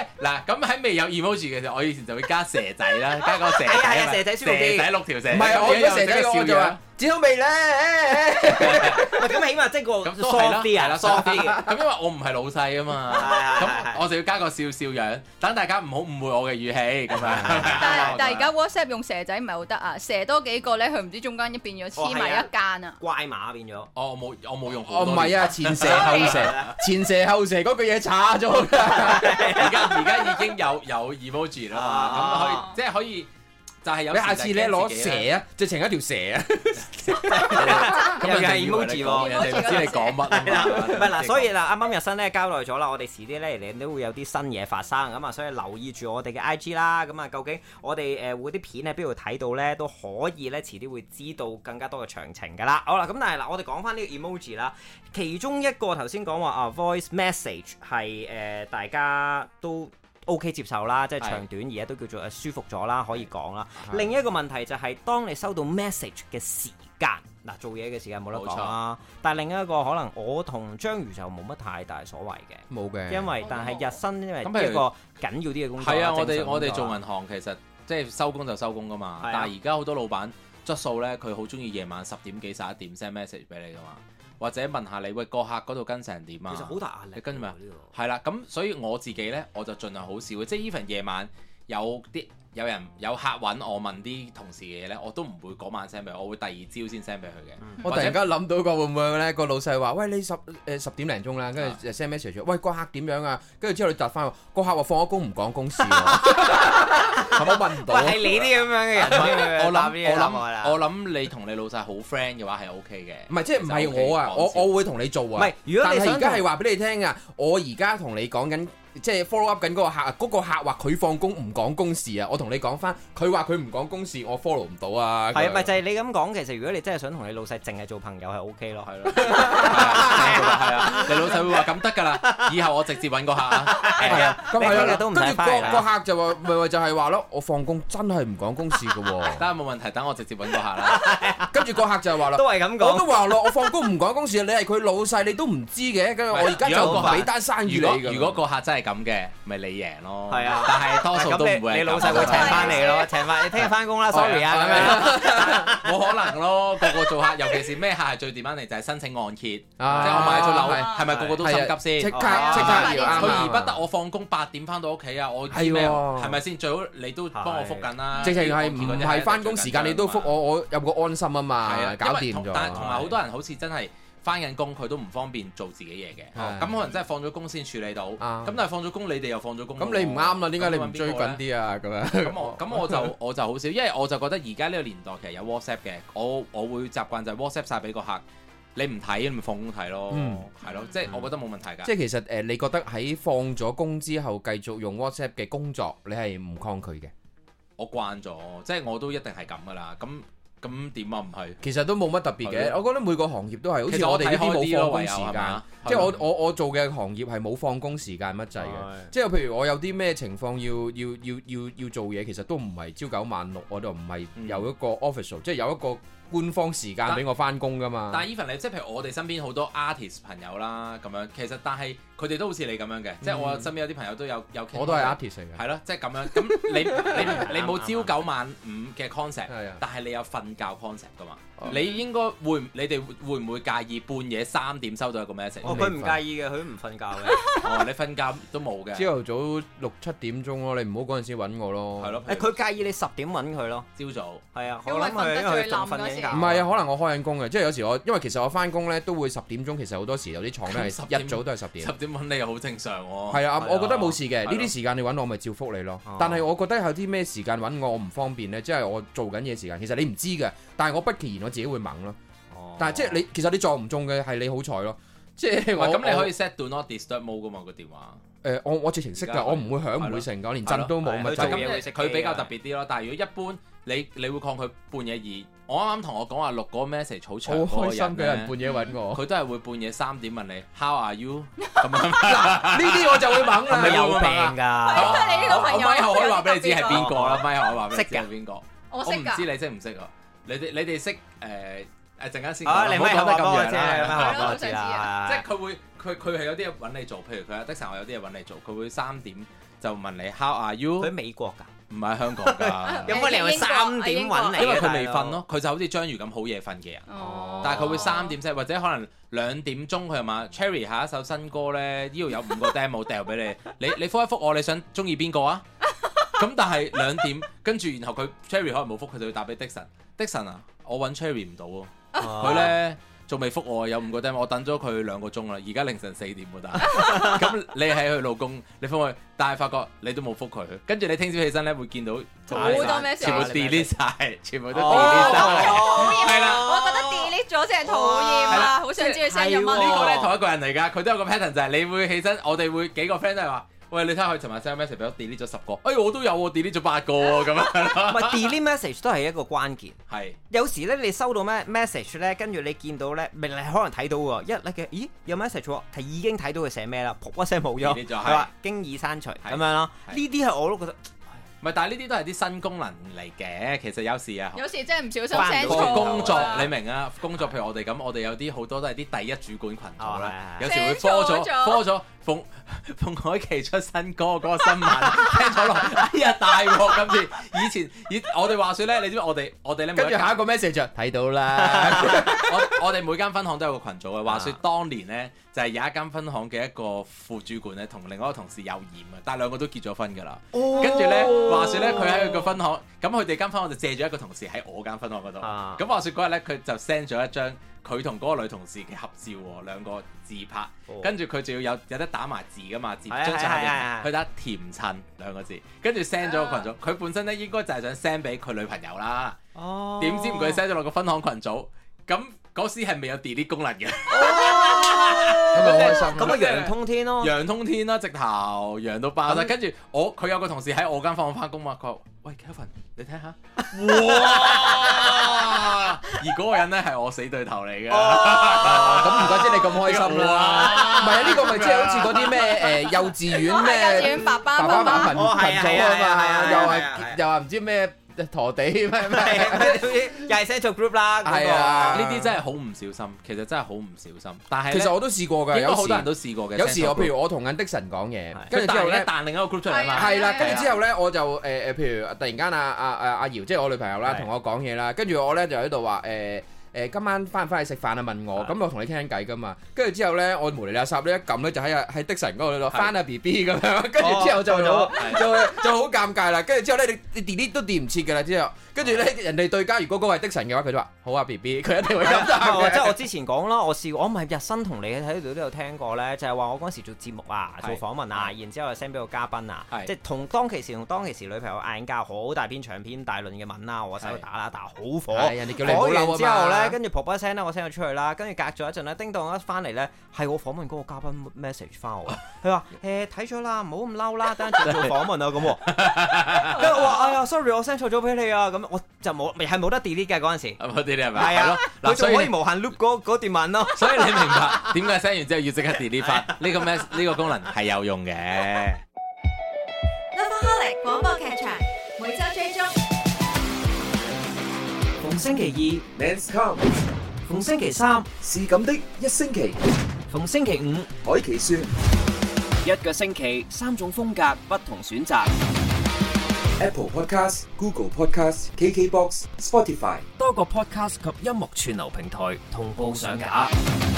嗱，咁喺未有 emoji 嘅時候，我以前就會加蛇仔啦，加個蛇仔啊， 蛇仔舒服啲， 蛇仔6條蛇。 唔係我咗蛇仔我就話剪好未咧？ 咁起碼即係個咁都係啦， 係啦，soft 啲嘅。 咁因為我唔係老細啊嘛，咁我就要加個笑笑樣，等大家唔好誤會我嘅語氣咁樣。 但係而家 WhatsApp 用蛇仔唔係好得啊，蛇多幾個咧，佢唔知中間變咗黐埋一間啊， 怪馬變咗。 我冇用。 唔係啊，前蛇後蛇，前蛇後蛇嗰句嘢差咗㗎。 而家已經有 emoji 啦嘛，咁可以。就係有你下次咧攞蛇啊，直情一條蛇啊， 咁又係 emoji 喎， 人哋唔知你講乜啊嘛。 唔係嗱，所以嗱，啱啱日新咧交代咗啦，我哋遲啲咧你都會有啲新嘢發生咁啊，所以留意住我哋嘅 IG 啦。咁啊，究竟我哋會啲片喺邊度睇到咧，都可以咧遲啲會知道更加多嘅詳情㗎啦。好啦，咁但係嗱，我哋講翻呢個 emoji 啦，其中一個頭先講話voice message 係大家都OK 接受啦，即係長短而家都叫做舒服咗啦，可以講啦。另一個問題就係當你收到 message 嘅時間，嗱做嘢嘅時間冇得講啦。但係另一個可能我同章魚就冇乜太大所謂嘅，冇嘅。因為但係日新因為一個緊要啲嘅工作。係啊， 我哋做銀行其實即係收工就收工噶嘛。但係而家好多老闆質素咧，佢好中意夜晚10點幾11點 send message 俾你噶嘛。或者問下你喂個客嗰度跟成點啊？ 其實好大壓力。 你跟住咪係啦，咁所以我自己咧我就盡量好少嘅，即係 even 夜晚有客揾我問啲同事嘅嘢咧，我都唔會嗰晚 send 俾佢，我會第二朝先 send 俾佢嘅。 我突然間諗到個會唔會咧？個老細話：喂，你10點零鐘啦，跟住 send message，喂個客點樣啊？跟住之後你答翻個客話放咗工唔講公事喎，我問唔到。 係你啲咁樣嘅人， 我諗你同你老細好 friend 嘅話係 OK 嘅。 唔係即係唔係我啊？我會同你做啊。唔係，如果你而家係話俾你聽啊，我而家同你講緊。即係 follow up 緊嗰個客啊，嗰個客話佢放工唔講公事啊，我同你講翻，佢話佢唔講公事，我 follow 唔到啊。 係咪就係你咁講？其實如果你真係想同你老細淨係做朋友係 OK 咯，係咯。 係啊，你老細會話咁得㗎啦，以後我直接揾個客啊。 係啊，咁係啊， 都唔使翻嚟。 個客就話咪就係話咯，我放工真係唔講公事㗎喎。 得冇問題，等我直接揾個客啦。 跟住個客就係話啦， 都係咁講。 我都話咯，我放工唔講公事，你係佢老細，你都唔知嘅。跟住我而家就俾單生意你。 如果個客真係咁嘅，咪你贏咯。 係啊， 但係多數都唔會。 你老細會請翻你咯，請翻你聽日翻工啦 ，sorry 啊咁樣。 冇可能咯，個個做客，尤其是咩客係最掂翻嚟就係申請按揭，即係我買咗樓，係咪個個都心急先？ 即刻要佢而不得我放工8點翻到屋企啊！我知咩？係咪先？最好你都幫我覆緊啦。 直情係唔係翻工時間你都覆我有個安心啊嘛，搞掂咗。 但係同埋好多人好似真係。翻緊工佢都唔方便做自己嘢嘅，咁可能真係放咗工先處理到。咁但係放咗工，你哋又放咗工。咁你唔啱啦，點解你唔追緊啲啊？咁樣。 咁我就好少，因為我就覺得而家呢個年代其實有 WhatsApp 嘅，我會習慣就係 WhatsApp 晒俾個客，你唔睇你咪放工睇咯，係咯，即係我覺得冇問題㗎。 即係其實你覺得喺放咗工之後繼續用 WhatsApp 嘅工作，你係唔抗拒嘅？ 我慣咗，即係我都一定係咁㗎啦。咁點啊？唔係， 其實都冇乜特別嘅。我覺得每個行業都係，好似我哋呢啲冇放工時間。即係我做嘅行業係冇放工時間乜滯嘅。即係譬如我有啲咩情況要做嘢，其實都唔係朝9晚6，我就唔係有一個 official，即係有一個官方時間俾我翻工噶嘛。 但係 even 你即係譬如我哋身邊好多 artist 朋友啦，咁樣其實但係佢哋都好似你咁樣嘅，即係我身邊有啲朋友都有傾。 我都係 artist 嚟嘅。 係咯，即係咁樣。咁你冇朝9晚5嘅 concept，但係你有瞓覺 concept 噶嘛？你應該你哋會唔會介意半夜3點收到一個 message？ 佢唔介意嘅，佢都唔瞓覺嘅。 你瞓覺都冇嘅。 朝頭早6-7點鐘咯，你唔好嗰陣時揾我咯。 係咯。 佢介意你10點揾佢咯。 朝早。係啊。 我諗佢因為佢仲瞓緊覺。 唔係啊，可能我開緊工嘅，即係有時因為其實我翻工咧都會10點鐘，其實好多時有啲廠咧係一早都係10點。 10點揾你又好正常喎。 係啊，我覺得冇事嘅，呢啲時間你揾我咪照覆你咯。但係我覺得有啲咩時間揾我唔方便咧，即係我做緊嘢時間，其實你唔知嘅，但係我不其然我自己會猛咯。但係即係其實你撞唔中嘅係你好彩咯，即係咁你可以 set do not disturb mode 噶嘛個電話。 我直情識㗎，我唔會響唔會成，我連震都冇。 佢比較特別啲咯，但係如果一般你會抗拒半夜2。我啱啱同我講話錄嗰個 message 好長， 好開心嘅人半夜揾我， 佢都係會半夜3點問你 How are you 咁樣。 呢啲我就會猛啦， 係咪有病㗎？ 你呢個朋友， 我咪後可以話俾你知係邊個啦，咪後可以話俾你知係邊個。 我唔知你識唔識啊？你哋識陣間先講。你咪講得咁樣啫， 即係佢係有啲嘢揾你做，譬如佢阿的神，我有啲嘢揾你做，佢會3點就問你 How are you？ 佢喺美國㗎。 唔係香港㗎， 有乜理由3點揾你？ 因為佢未瞓咯，佢就好似章魚咁好夜瞓嘅人。但係佢會3點或者可能2點鐘佢又問 Cherry 下一首新歌咧，呢度有5個 demo 掉俾你，你覆一覆我，你想中意邊個啊？咁但係2點，跟住然後佢 Cherry 可能冇覆，佢就會打俾 Dixon 啊，我揾 Cherry 唔到喎，佢咧。仲未覆我，有5個 demo，我等咗佢2個鐘啦，而家凌晨4點喎，但係咁你係佢老公，你覆佢，但係發覺你都冇覆佢，跟住你聽朝起身咧會見到好多咩全部 delete 晒，全部都 delete 晒， 係啦，我覺得 delete 咗先係討厭啊，好想知佢 send 咗乜。 呢個咧同一個人嚟㗎，佢都有個 pattern 就係你會起身，我哋會幾個 friend 都係話。喂，你睇下佢尋日 send message 俾我 delete 咗10個，我都有喎 delete 咗8個喎，咁樣。 唔係 delete message 都係一個關鍵。 係。 有時咧，你收到咩 message 咧，跟住你見到咧，你可能睇到喎，咦有 message 喎，係已經睇到佢寫咩啦，噗一聲冇咗，係話經已刪除咁樣咯。呢啲係我都覺得。唔係， 但係呢啲都係啲新功能嚟嘅。其實有時啊， 有時真係唔小心 send 錯。 工作你明啊？工作譬如我哋咁，我哋有啲好多都係啲第一主管群組啦，有時會 call 咗馮海琪出新歌嗰個新聞聽咗落，哎呀大鑊今次！我哋話説咧，你知唔知我哋咧？ 跟住下一個 message 就睇到啦。 我哋每間分行都有個群組嘅。話説當年咧，就係有一間分行嘅一個副主管咧，同另外一個同事有染啊，但係2個都結咗婚㗎啦。跟住咧，話説咧，佢喺佢個分行，咁佢哋間分行就借咗一個同事喺我間分行嗰度。咁話説嗰日咧，佢就 send 咗一張佢同嗰個女同事嘅合照喎，2個自拍，跟住佢仲要有得打埋字㗎嘛，張相下邊佢打甜襯2個字，跟住 send 咗個群組。佢本身咧應該就係想 send 俾佢女朋友啦，點知唔佢 send 咗落個分行群組，咁嗰時係未有 delete 功能嘅。 咁咪開心咁咪陽通天咯， 陽通天啦，直頭陽到爆晒。跟住佢有個同事喺我間房翻工嘛，佢話：喂 Kevin，你睇下，哇！而嗰個人咧係我死對頭嚟嘅， 咁唔怪之你咁開心啦。唔係啊，呢個咪即係好似嗰啲咩幼稚園咩幼稚園爸爸群組啊嘛，又話唔知咩。陀地咩， 又係 send 錯 group 啦。 係啊， 呢啲真係好唔小心，其實真係好唔小心。但係其實我都試過㗎， 有好多人都試過嘅。 有時我譬如我同緊的神講嘢，跟住之後咧彈另一個 group 出嚟嘛。 係啦，跟住之後咧我就譬如突然間阿瑤，即係我女朋友啦，同我講嘢啦，跟住我咧就喺度話今晚翻唔翻去食飯啊？問我，咁我同你傾緊偈噶嘛。跟住之後咧，我無厘啦霎呢一撳咧，就喺的神嗰度翻啊 BB 咁樣。跟住之後就好尷尬啦。跟住之後咧，你 delete 都 delete 唔切㗎啦。之後跟住咧，人哋對家如果嗰個係的神嘅話，佢就話好啊 BB，佢一定會咁答嘅。 即係我之前講啦，我試過，我唔係日新同你喺度都有聽過咧，就係話我嗰時做節目啊，做訪問啊，然之後 send 俾個嘉賓啊，即係同當其時女朋友嗌交，好大篇長篇大論嘅文啦，我喺度打好火。 人哋叫你唔好嬲啊嘛。 講完之後咧，跟住噗一聲咧，我 send 咗出去啦，跟住隔咗一陣咧，叮當一翻嚟咧，係我訪問嗰個嘉賓 message 翻我，佢話睇咗啦，唔好咁嬲啦，等陣做訪問啊咁。跟住我話哎呀 sorry， 我 send 錯咗俾你啊，咁我就冇得 delete 嘅嗰陣時。 冇 delete 係咪？ 係啊，佢仲可以無限 loop 嗰段文咯。 所以你明白點解 send 完之後要即刻 delete 翻？呢個功能係有用嘅。 Lovaholic 廣播劇場每周追蹤， 逢星期二 Men's Come， 逢星期三是咁的一星期， 逢星期五海奇說一個星期3種風格不同選擇。 Apple Podcast、Google Podcast、KKBox、Spotify 多個 podcast 及音樂串流平台同步上架。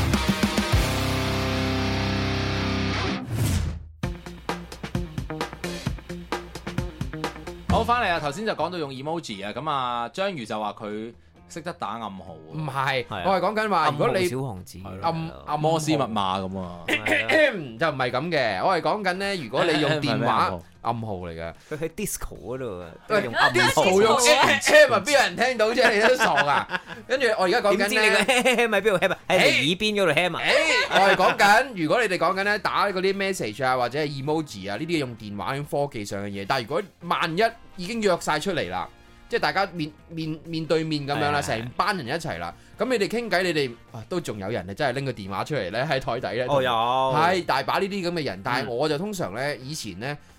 好，翻嚟啊！頭先就講到用 emoji 啊，咁啊章魚就話佢識得打暗號。 唔係，我係講緊話，如果你小王子暗摩斯密碼咁啊， 就唔係咁嘅。我係講緊咧，如果你用電話暗號嚟嘅， 佢喺 disco 嗰度啊， 用暗號用 M 邊有人聽到啫？你都傻啊！跟住我而家講緊咧， 點知你個 M 喺邊度 M 啊？喺耳邊嗰度 M 啊？ 我係講緊，如果你哋講緊咧打嗰啲 message 啊，或者係 emoji 啊，呢啲用電話用科技上嘅嘢。但係如果萬一已經約晒出嚟啦，即係大家面對面咁樣啦，成班人一齊啦，咁你哋傾偈，你哋都仲有人係真係拎個電話出嚟咧喺台底咧。 有係大把呢啲咁嘅人，但係我就通常咧以前咧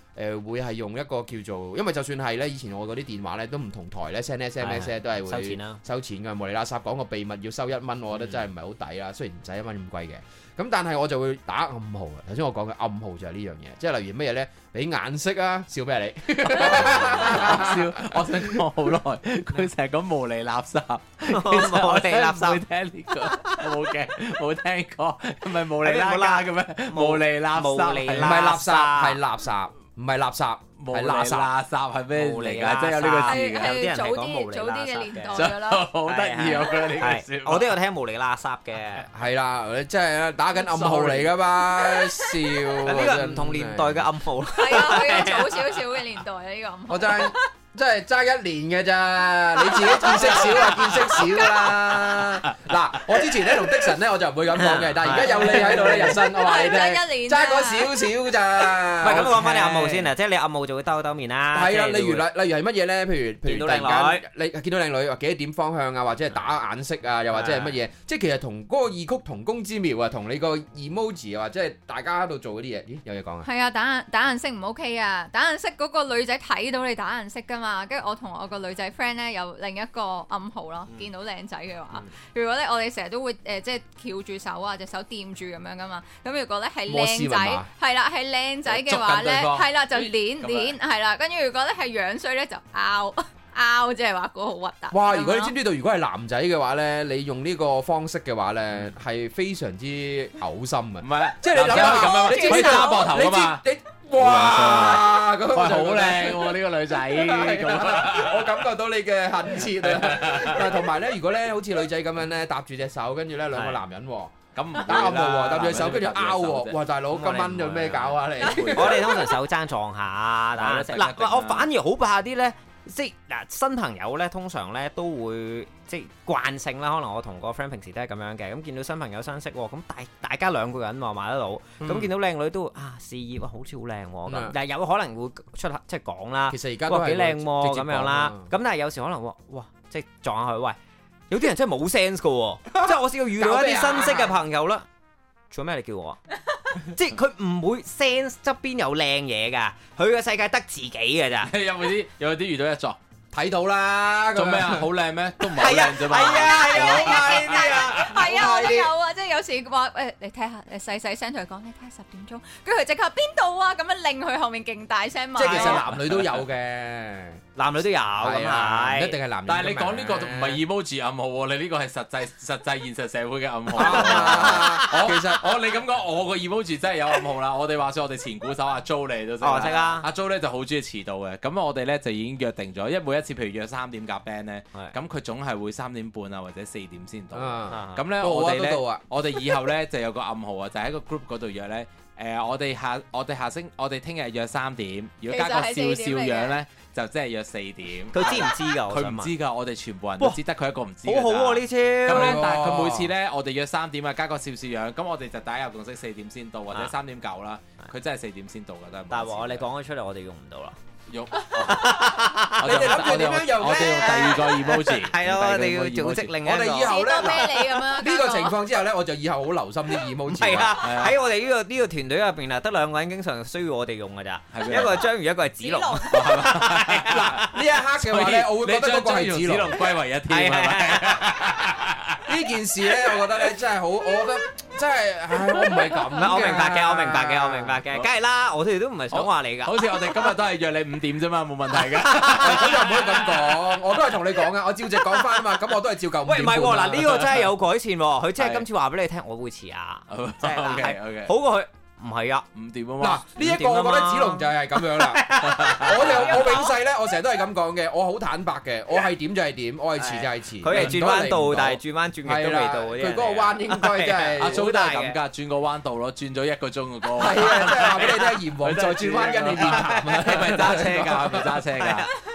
會係用一個叫做，因為就算係咧，以前我嗰啲電話咧都唔同台咧 send SMS 咧都係會收錢㗎，無厘啦霎講個秘密要收1蚊，我覺得真係唔係好抵啦。雖然唔使1蚊咁貴嘅，咁但係我就會打暗號啊。頭先我講嘅暗號就係呢樣嘢，即係例如乜嘢咧？俾顏色啊！笑咩你？ 笑！我想講好耐，佢成日講無厘垃圾， 無厘垃圾。 冇聽呢個，冇嘅，冇聽過，唔係無厘啦家嘅咩？無厘垃圾， 唔係垃圾，係垃圾，唔係垃圾。係垃圾係咩嚟㗎？即係有呢個字嘅， 有啲人係講無厘早啲嘅年代㗎啦， 好得意啊！我覺得呢個笑， 我都有聽無厘垃圾嘅， 係啦，即係打緊暗號嚟㗎嘛，笑。 呢個唔同年代嘅暗號。 係啊，佢有早少少嘅年代啊，呢個暗號。 我真係爭1年嘅咋，你自己見識少啊，見識少啦。嗱，我之前咧同的神咧我就唔會咁講嘅，但係而家有你喺度咧，日新我話你聽，爭嗰少少咋。 唔係咁講翻你暗號先啊，即係你暗號就會兜面啦。 係啊，例如係乜嘢咧？譬如突然間你見到靚女，或幾多點方向啊，或者係打眼色啊，又或者係乜嘢？即係其實同嗰個異曲同工之妙啊，同你個 emoji 啊，或者係大家喺度做嗰啲嘢，咦有嘢講啊？ 係啊，打眼色唔 OK 啊，打眼色嗰個女仔睇到你打眼色㗎嘛。跟住我同我個女仔 friend 咧有另一個暗號咯，見到靚仔嘅話，如果咧我哋成日都會即係翹住手啊，隻手掂住咁樣噶嘛。咁如果咧係靚仔，係啦係靚仔嘅話咧，係啦就攣係啦。跟住如果咧係樣衰咧就拗，即係話嗰個好核突。 哇！如果你知唔知道，如果係男仔嘅話咧，你用呢個方式嘅話咧，係非常之嘔心啊！ 唔係， 即係你諗下咁樣， 你可以揸膊頭㗎嘛？ 哇！咁好靚喎呢個女仔， 我感覺到你嘅恨切啊！同埋咧，如果咧好似女仔咁樣咧，搭住隻手，跟住咧兩個男人喎，咁唔打暗號喎，搭住隻手，跟住拗喎，哇！大佬今晚有咩搞啊你？ 我哋通常手踭撞下，嗱，我反而好怕啲咧。即係嗱，新朋友咧，通常咧都會即係慣性啦。可能我同個 friend 平時都係咁樣嘅。咁見到新朋友相識，咁大家兩個人喎買得到。咁見到靚女都示意好似好靚喎。咁但係有可能會出即係講啦。 其實而家都係幾靚喎咁樣啦。咁但係有時可能哇，即係撞下佢，喂，有啲人真係冇 sense 㗎喎。即係我試過遇到一啲新識嘅朋友啦。做咩你叫我啊？即係佢唔會 sense 側邊有靚嘢㗎，佢個世界得自己㗎咋。 有冇啲遇到一撞睇到啦？ 做咩啊？好靚咩？都唔係好靚啫嘛。 係啊， 係啊，我都有啊。即係有時話你睇下，細細聲同佢講，你睇下10點鐘，跟住佢即刻邊度啊？咁樣令佢後面勁大聲嘛。 即係其實男女都有嘅。男女都有咁係，唔一定係男人。 但係你講呢個唔係 emoji 暗號喎，你呢個係實際現實社會嘅暗號。其實你咁講，我個 emoji 真係有暗號啦。我哋話說我哋前鼓手阿 Jo 你都識啦。阿 Jo 咧就好中意遲到嘅，咁我哋咧就已經約定咗，因為每一次譬如約3點夾 band 咧，咁佢總係會3點半啊或者4點先到。咁咧我哋以後咧就有個暗號啊，就喺個 group 嗰度約咧。我哋聽日約3點，如果加個笑笑樣咧，就即係約4點。 佢知唔知㗎？ 佢唔知㗎，我哋全部人都知，得佢一個唔知。 好好喎呢招。 咁咧，但係佢每次咧，我哋約3點啊，加個笑笑樣，咁我哋就大家有共識4點先到，或者3點9啦。佢真係4點先到㗎，得。 但係話你講咗出嚟，我哋用唔到啦。 你哋諗住點樣用咧？ 我哋用第二個 emoji。 係咯，我哋要組織另一個。 我哋以後咧， 呢個情況之後咧，我就以後好留心啲 emoji。 係啊，喺我哋呢個團隊入邊啊，得2個人經常需要我哋用㗎咋。一個係章魚，一個係子龍。 嗱，呢一刻嘅話咧，我會覺得嗰個係子龍歸為一體。 呢件事咧，我覺得咧真係好，我覺得真係，我唔係咁。 我明白嘅，梗係啦，我哋都唔係想話你㗎。 好似我哋今日都係約你5點啫嘛，冇問題㗎。 咁又唔可以咁講，我都係同你講㗎，我照直講翻啊嘛，咁我都係照舊5點半。 喂，唔係喎，嗱呢個真係有改善喎，佢真係今次話俾你聽，我會遲啊，即係 OK， 好過佢。唔係啊 ，5點啊嘛。 嗱，呢一個我覺得子龍就係咁樣啦。我永世咧，我成日都係咁講嘅，我好坦白嘅，我係點就係點，我係遲就係遲。 佢係轉彎到，但係轉彎轉極都未到嗰啲。 佢嗰個彎應該真係阿蘇都係咁㗎，轉個彎到咯，轉咗1個鐘嘅歌。 係啊，即係話俾你聽，閻王再轉彎跟你面談啊！ 係咪揸車㗎？係咪揸車㗎？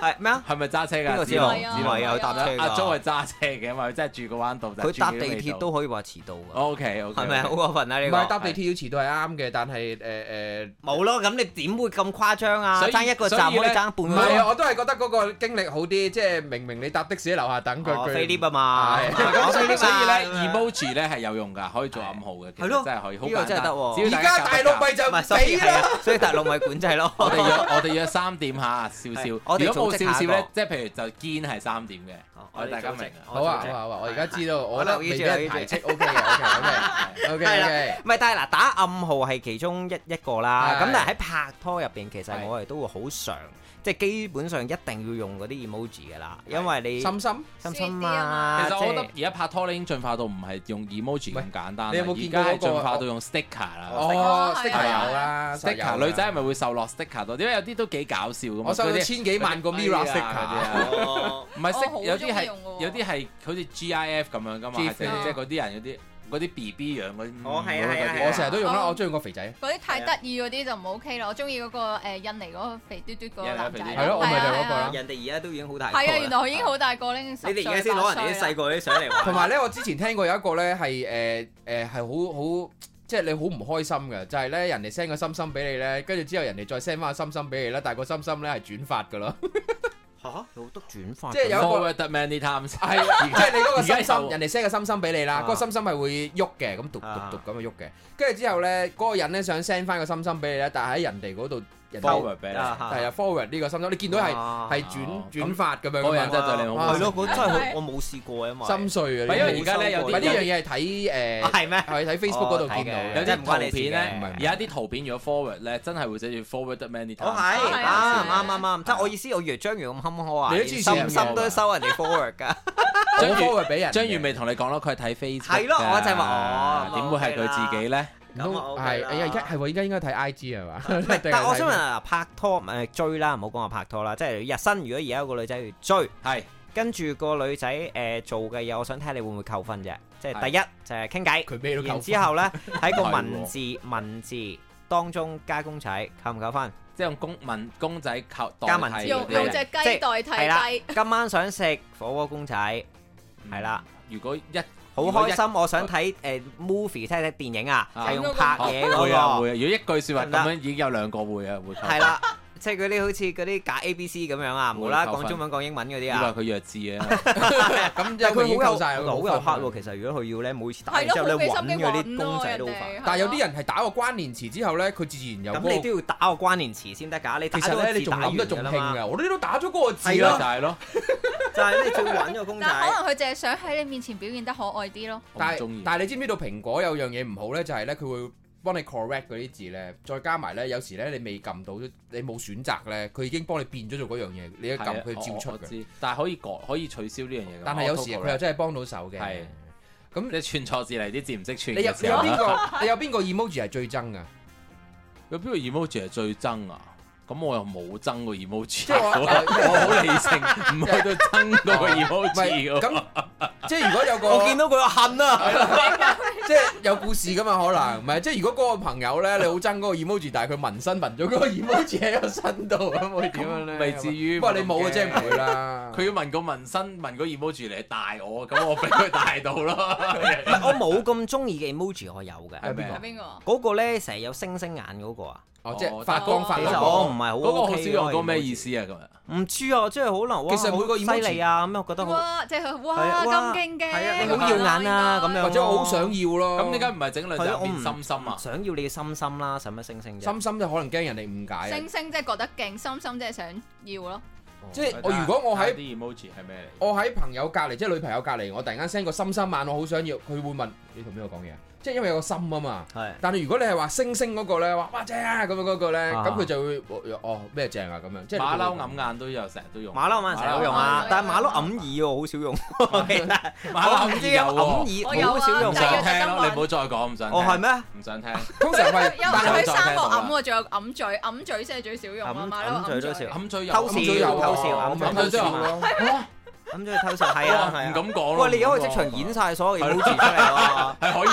係咩啊？ 係咪揸車㗎？ 邊個知道？唔係啊，搭車㗎。 阿 Jo 係揸車嘅，因為佢真係住個灣度。 佢搭地鐵都可以話遲到㗎。 OK， 係咪好過分啊？呢個唔係搭地鐵要遲到係啱嘅，但係冇咯。咁你點會咁誇張啊？爭一個站可以爭半個鐘。 唔係啊，我都係覺得嗰個經歷好啲，即係明你搭的士喺樓下等佢。 飛 lift 啊嘛。 咁所以咧 emoji 咧係有用㗎，可以做暗號嘅。係咯，真係可以。呢個真係得喎。 而家大陸咪就唔俾啦， 所以大陸咪管制咯。 我哋約3點嚇，笑笑。如果冇笑笑咧，即係譬如就堅係3點嘅。我哋大家明。 好啊，我而家知道，我覺得未俾人排斥 OK 嘅，OK。 係，唔係？但係嗱，打暗號係其中一個啦。咁但係喺拍拖入邊，其實我哋都會好常。即係基本上一定要用嗰啲 emoji 嘅啦，因為你心啊。 其實我覺得而家拍拖咧已經進化到唔係用 emoji 咁簡單。 你有冇見過而家係進化到用 sticker 啦。 sticker 有啦 ，sticker 女仔係咪會受落 sticker 多？因為有啲都幾搞笑㗎嘛。 我收咗千幾萬個 Mirror sticker 唔係有啲係好似 GIF 咁樣㗎嘛，即係嗰啲人嗰啲 BB 樣嗰啲， 我成日都用啦，我中意個肥仔。 嗰啲太得意嗰啲就唔 OK 啦，我中意嗰個印尼嗰個肥嘟嘟嗰個男仔。 係咯，我咪就嗰個啦。 人哋而家都已經好大個。 係啊，原來佢已經好大個咧，10歲。 你哋而家先攞人哋啲細個啲相嚟玩。 同埋咧，我之前聽過有一個咧係係好即係你好唔開心嘅，就係咧人哋 send 個心心俾你咧，跟住之後人哋再 send 翻個心心俾你咧，但係個心心咧係轉發㗎咯。 有得轉發， 即係有一個 forward many times， 係即係你嗰個心心，人哋 send 個心心俾你啦，嗰個心心係會喐嘅，咁讀咁去喐嘅，跟住之後咧，嗰個人咧想 send 翻個心心俾你咧，但係喺人哋嗰度。 forward 俾你， 係啊 forward 呢個心心，你見到係轉發咁樣， 嗰人真係對你好， 係咯，嗰真係我冇試過啊嘛， 心碎啊！ 因為而家咧有啲呢樣嘢係睇係咩？ 係睇 Facebook 嗰度見到， 有啲圖片咧，有一啲圖片如果 forward 咧，真係會寫住 forward many times。 啱，即係我意思，我以為章魚咁坎坷啊，連心心都收人哋 forward 㗎， 我 forward 俾人。 章魚未同你講咯，佢係睇 Facebook。 係咯，我就係話點會係佢自己咧？ 都係，而家係喎，而家應該睇 IG 係嘛？ 但係我想問啊，拍拖追啦，唔好講話拍拖啦，即係日新。如果而家有個女仔去追， 係跟住個女仔做嘅嘢，我想睇下你會唔會扣分啫？即係第一就係傾偈， 佢咩都扣分。 然之後咧喺個文字當中加公仔，扣唔扣分？ 即係用公仔加文字， 用隻雞代替雞。 今晚想食火鍋公仔，係啦。 如果好開心，我想睇movie 睇電影啊，係用拍嘢嗰個。 會啊！如果一句説話咁樣已經有2個會啊，會。 係啦，即係嗰啲好似嗰啲假 ABC 咁樣啊，無啦啦講中文講英文嗰啲啊。 以為佢弱智啊！ 咁就佢好有晒， 好有黑喎。其實如果佢要咧，每次打完之後咧揾嗰啲公仔都好煩。 但係有啲人係打個關聯詞之後咧，佢自然有。 咁你都要打個關聯詞先得㗎。你其實咧，你仲諗得仲興㗎。我哋都打咗嗰個字咯， 就係咯。 就係你最揾個公仔。 但可能佢淨係想喺你面前表現得可愛啲咯。 但係你知唔知道蘋果有樣嘢唔好咧？就係咧，佢會幫你 correct 嗰啲字咧，再加埋咧，有時咧你未撳到，你冇選擇咧，佢已經幫你變咗做嗰樣嘢，你一撳佢照出嘅。 但係可以改，可以取消呢樣嘢。 但係有時佢又真係幫到手嘅。係。咁你串錯字嚟，啲字唔識串。 你有邊個 emoji 係最憎㗎？ 有邊個 emoji 係最憎啊？咁我又冇憎個 emoji，我好理性，唔去到憎嗰個 emoji。 咁即係如果有個我見到佢話恨啊， 即係有故事噶嘛？可能唔係，即係如果嗰個朋友咧，你好憎嗰個 emoji，但係佢紋身紋咗嗰個 emoji 喺個身度，咁會點樣咧？ 未至於。 不過你冇嘅啫，唔會啦。 佢要紋個紋身，紋個 emoji 嚟帶我，咁我俾佢帶到咯。 我冇咁中意嘅 emoji，我有嘅。 係邊個？ 嗰個咧成日有星星眼嗰個啊！ 哦，即係發光發亮。 我唔係好 OK。 嗰個好少用，嗰個咩意思啊？咁樣唔知啊，即係可能哇， 其實每個 emoji 犀利啊，咁我覺得哇，即係哇咁勁嘅， 係啊，你好耀眼啊，咁樣或者我好想要咯。 咁點解唔係整兩隻變心心啊？ 想要你嘅心心啦，使乜星星啫？ 心心就可能驚人哋誤解。 星星即係覺得勁，心心即係想要咯。 即係我如果我喺啲 emoji 係咩嚟？ 我喺朋友隔離，即係女朋友隔離，我突然間 send 個心心眼，我好想要，佢會問你同邊個講嘢？即係因為有個心啊嘛。係。但係如果你係話星星嗰個咧，話哇正啊咁樣嗰個咧，咁佢就會哦咩正啊咁樣。即係馬騮揞眼都有，成日都用。 馬騮眼成日都用啊，但係馬騮揞耳喎，好少用。 馬騮唔知啊， 揞耳好少用。 唔想聽咯，你唔好再講，唔想聽。 哦係咩？ 唔想聽。 通常係， 但係佢三個揞喎，仲有揞嘴先係最少用啊。馬騮嘴都少。 揞嘴有。 偷笑，揞嘴有咯。咁即係偷笑，係啊，唔敢講咯。 喂，你而家可以即場演晒所有 emoji 出嚟喎， 係可以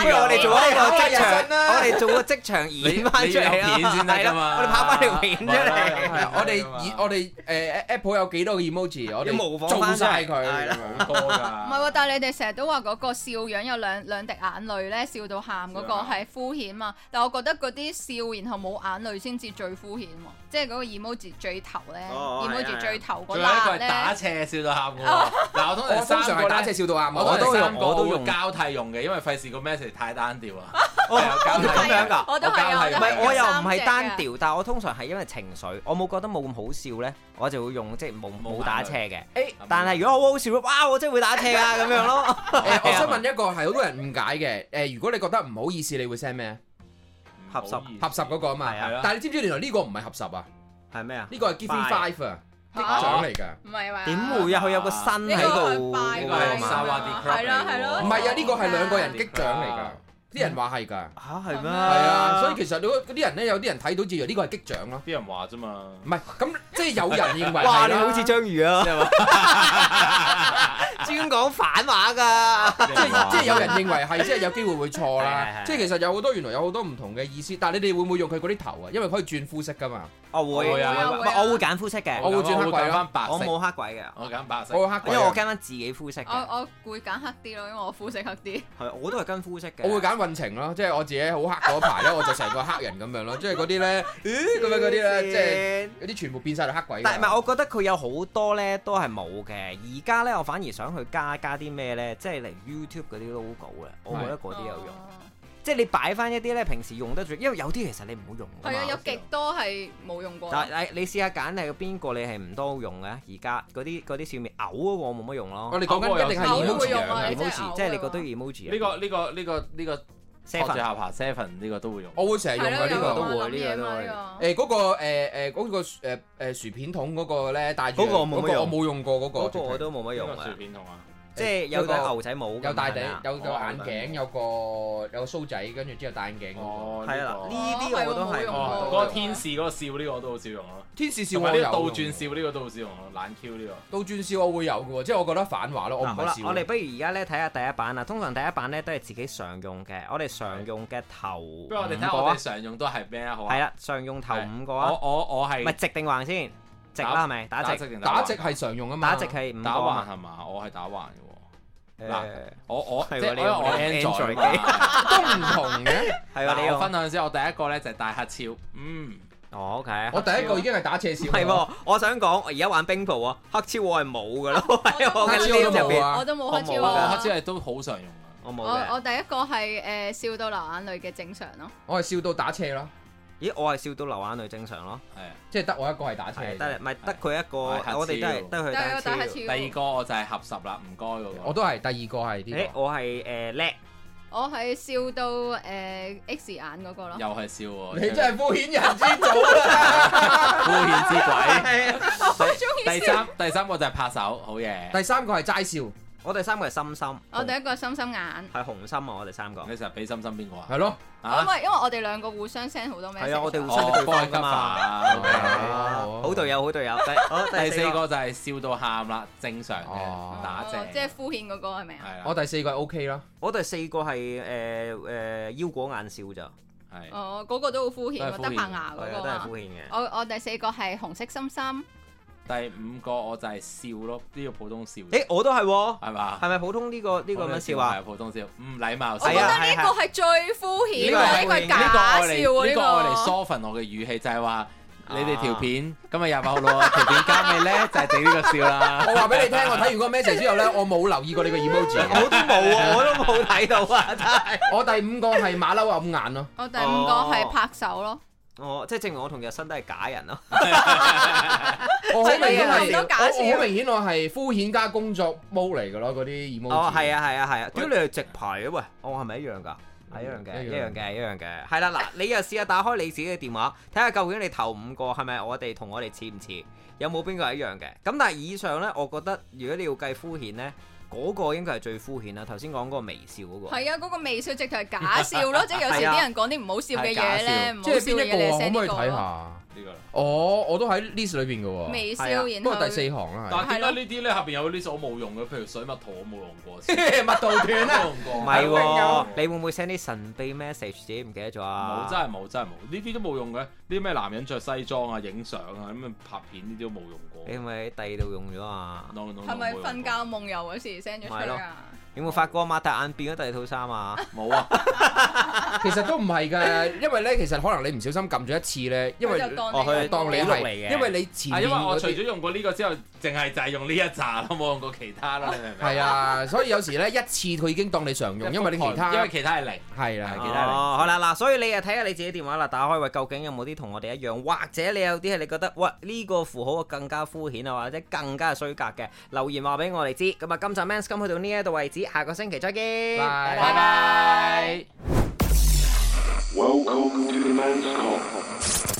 不如我哋做一個職場，我哋做個職場演翻出嚟片先得㗎嘛。 我哋拍翻條片出嚟。 我哋Apple 有幾多個 emoji， 我哋模仿做晒佢， 好多㗎。 唔係喎，但係你哋成日都話嗰個笑樣有兩滴眼淚咧，笑到喊嗰個係敷衍嘛。但係我覺得嗰啲笑然後冇眼淚先至最敷衍喎，即係嗰個 emoji 最頭咧，emoji 最頭嗰辣咧。 打斜笑到喊喎。嗱，我通常係打斜笑到喊， 我都用交替用嘅，因為費事個 message 太單調啊。 咁樣㗎， 我都係啊， 唔係我又唔係單調，但係我通常係因為情緒，我冇覺得冇咁好笑咧，我就會用即係冇打斜嘅。但係如果好好笑，哇！我真係會打斜啊咁樣咯。 我想問一個係好多人誤解嘅，如果你覺得唔好意思，你會 send 咩？ 合十嗰個啊嘛。但係你知唔知原來呢個唔係合十啊？ 係咩啊？ 呢個係 Give Me Five 啊，擊獎嚟㗎。 唔係嘛？ 點會啊？佢有個身喺度。 呢個係沙瓦迪 club 係咯。 唔係啊，呢個係兩個人擊獎嚟㗎。啲人話係㗎。 嚇係咩？ 係啊，所以其實嗰啲人咧，有啲人睇到之後呢個係擊獎咯。 啲人話啫嘛。 唔係，咁即係有人認為。 哇！你好似章魚啊！專講反話㗎。 即係有人認為係，即係有機會會錯啦。即係其實有好多原來有好多唔同嘅意思，但係你哋會唔會用佢嗰啲頭啊？因為可以轉膚色㗎嘛。 我會我會揀膚色嘅。 我會轉黑鬼咯。 白色。 我冇黑鬼嘅。 我揀白色。 我黑鬼， 因為我跟翻自己膚色嘅。 我會揀黑啲咯，因為我膚色黑啲。 係，我都係跟膚色嘅。 我會揀運程咯，即係我自己好黑嗰排咧，我就成個黑人咁樣咯，即係嗰啲咧，咁樣嗰啲咧，即係嗰啲全部變晒到黑鬼。 但係唔係，我覺得佢有好多咧都係冇嘅。而家咧，我反而想去加啲咩咧，即係嚟 YouTube 嗰啲 logo 咧，我覺得嗰啲有用。即係你擺翻一啲咧，平時用得住，因為有啲其實你唔好用。 係啊，有極多係冇用過。 但係你試下揀係邊個你係唔多用嘅？而家嗰啲笑面嘔嗰個我冇乜用咯。 我哋講緊一定係 emoji，即係你覺得 emoji。 呢個 Seven 住下爬 Seven 呢個都會用。 我會成日用嘅呢個都會， 呢個都會。嗰個薯片筒嗰個咧，帶住嗰個我冇用過嗰個。 嗰個我都冇乜用啊。 薯片筒啊！ 即係有個牛仔帽， 有戴頂，有個眼鏡，有個鬚仔，跟住之後戴眼鏡。 哦，係啦，呢啲我都係。 嗰個天使嗰個笑呢個我都好少用咯。 天使笑我有。 倒轉笑呢個都好少用咯，懶 Q 呢個。 倒轉笑我會有嘅喎，即係我覺得反話咯，我唔係笑。 好啦，我哋不如而家咧睇下第一版啊。通常第一版咧都係自己常用嘅，我哋常用嘅頭5個。 不如我哋睇下我哋常用都係咩啊？好啊。 係啦，常用頭5個啊。 我係。 唔係直定橫先？直啦係咪？打直。 打直係常用啊嘛。 打直係5個。 打橫係嘛？我係打橫嘅。嗱，我即係我 Android 機都唔同嘅， 係啊！你我分享先，我第一個咧就係大黑超， OK。 我第一個已經係打斜笑。 係喎，我想講，我而家玩冰鋪啊，黑超我係冇㗎咯，喺我嘅 list 入邊， 我都冇黑超。 黑超係都好常用啊， 我冇嘅。 我第一個係笑到流眼淚嘅正常咯。 我係笑到打斜咯。 咦，我係笑到流眼淚正常咯， 係啊， 即係得我一個係打斜， 得唔係得佢一個，我哋都係得佢打斜。 第二個我就係合十啦，唔該嗰個。 我都係第二個係呢個。 我係叻，我係笑到X 眼嗰個咯。 又係笑喎， 你真係敷衍人之祖啦， 敷衍之鬼。 我中意。 第三個就係拍手，好嘢。 第三個係齋笑。 我第三個係心心， 我第一個係心心眼， 係紅心啊！我哋3個， 你成日俾心心邊個啊？ 係咯， 因為我哋2個互相 send 好多 message， 係啊，我哋互相對方㗎嘛，好隊友，好隊友。 第4個就係笑到喊啦，正常嘅打正， 即係敷衍嗰個係咪啊？ 我第4個係 OK 啦， 我第4個係腰果眼笑咋， 係嗰個都好敷衍，得棚牙嗰個都係敷衍嘅。 我第4個係紅色心心。 第5個我就係笑咯，呢個普通笑。 我都係喎， 係嘛？ 係咪普通呢個咁樣笑啊？ 係普通笑，唔禮貌。 我覺得呢個係最敷衍嘅，呢個係假笑。 呢個我嚟 soften 我嘅語氣，就係話你哋條片今日28號咯，條片加尾咧就係整呢個笑啦。 我話俾你聽，我睇完嗰個 message 之後咧，我冇留意過你個 emoji， 我都冇啊，我都冇睇到啊，真係。 我第5個係馬騮揞眼咯， 我第5個係拍手咯。 即係證明我同日新都係假人咯。 我好明顯我係敷衍加工作 mode 嚟㗎咯，嗰啲 emoji。 係啊。屌你係直排嘅喂，係咪一樣㗎？係一樣嘅。係啦，嗱，你又試下打開你自己嘅電話，睇下究竟你頭5個係咪我哋似唔似？有冇邊個係一樣嘅？咁但係以上咧，我覺得如果你要計敷衍咧， 嗰個應該係最敷衍啦。頭先講嗰個微笑嗰個。 係啊，嗰個微笑直頭係假笑咯，即係有時啲人講啲唔好笑嘅嘢咧，唔好笑嘅嘢你 send 呢個。可唔可以睇下？ 呢個哦，我都喺 list 裏邊嘅喎。 微笑，然後不過第4行啦。 但係點解呢啲咧下邊有 list 我冇用嘅？譬如水蜜桃我冇用過， 蜜桃團啊， 唔係喎，你會唔會 send 啲神秘 message 自己唔記得咗啊？ 冇，真係冇，真係冇，呢啲都冇用嘅。呢啲咩男人着西裝啊、影相啊、咁樣拍片呢啲都冇用過。 你係咪喺第二度用咗啊？ 係咪瞓覺夢遊嗰時 send 咗出嚟啊？ 有冇發覺擘大眼變咗第二套衫啊？ 冇啊， 其實都唔係㗎，因為咧其實可能你唔小心撳咗一次咧，因為佢當你係，因為你前面因為我除咗用過呢個之後，淨係就係用呢一紮咯，冇用過其他啦，你明唔明？ 係啊，所以有時咧一次佢已經當你常用，因為你其他係零， 係啦， 其他零。 好啦嗱，所以你又睇下你自己電話啦，打開喂，究竟有冇啲同我哋一樣，或者你有啲係你覺得喂呢個符號更加敷衍啊，或者更加衰格嘅，留言話俾我哋知。咁啊，今集 Men's Come 去到呢一度為止，下個星期再見。 拜拜。 Welcome to the Men's Come.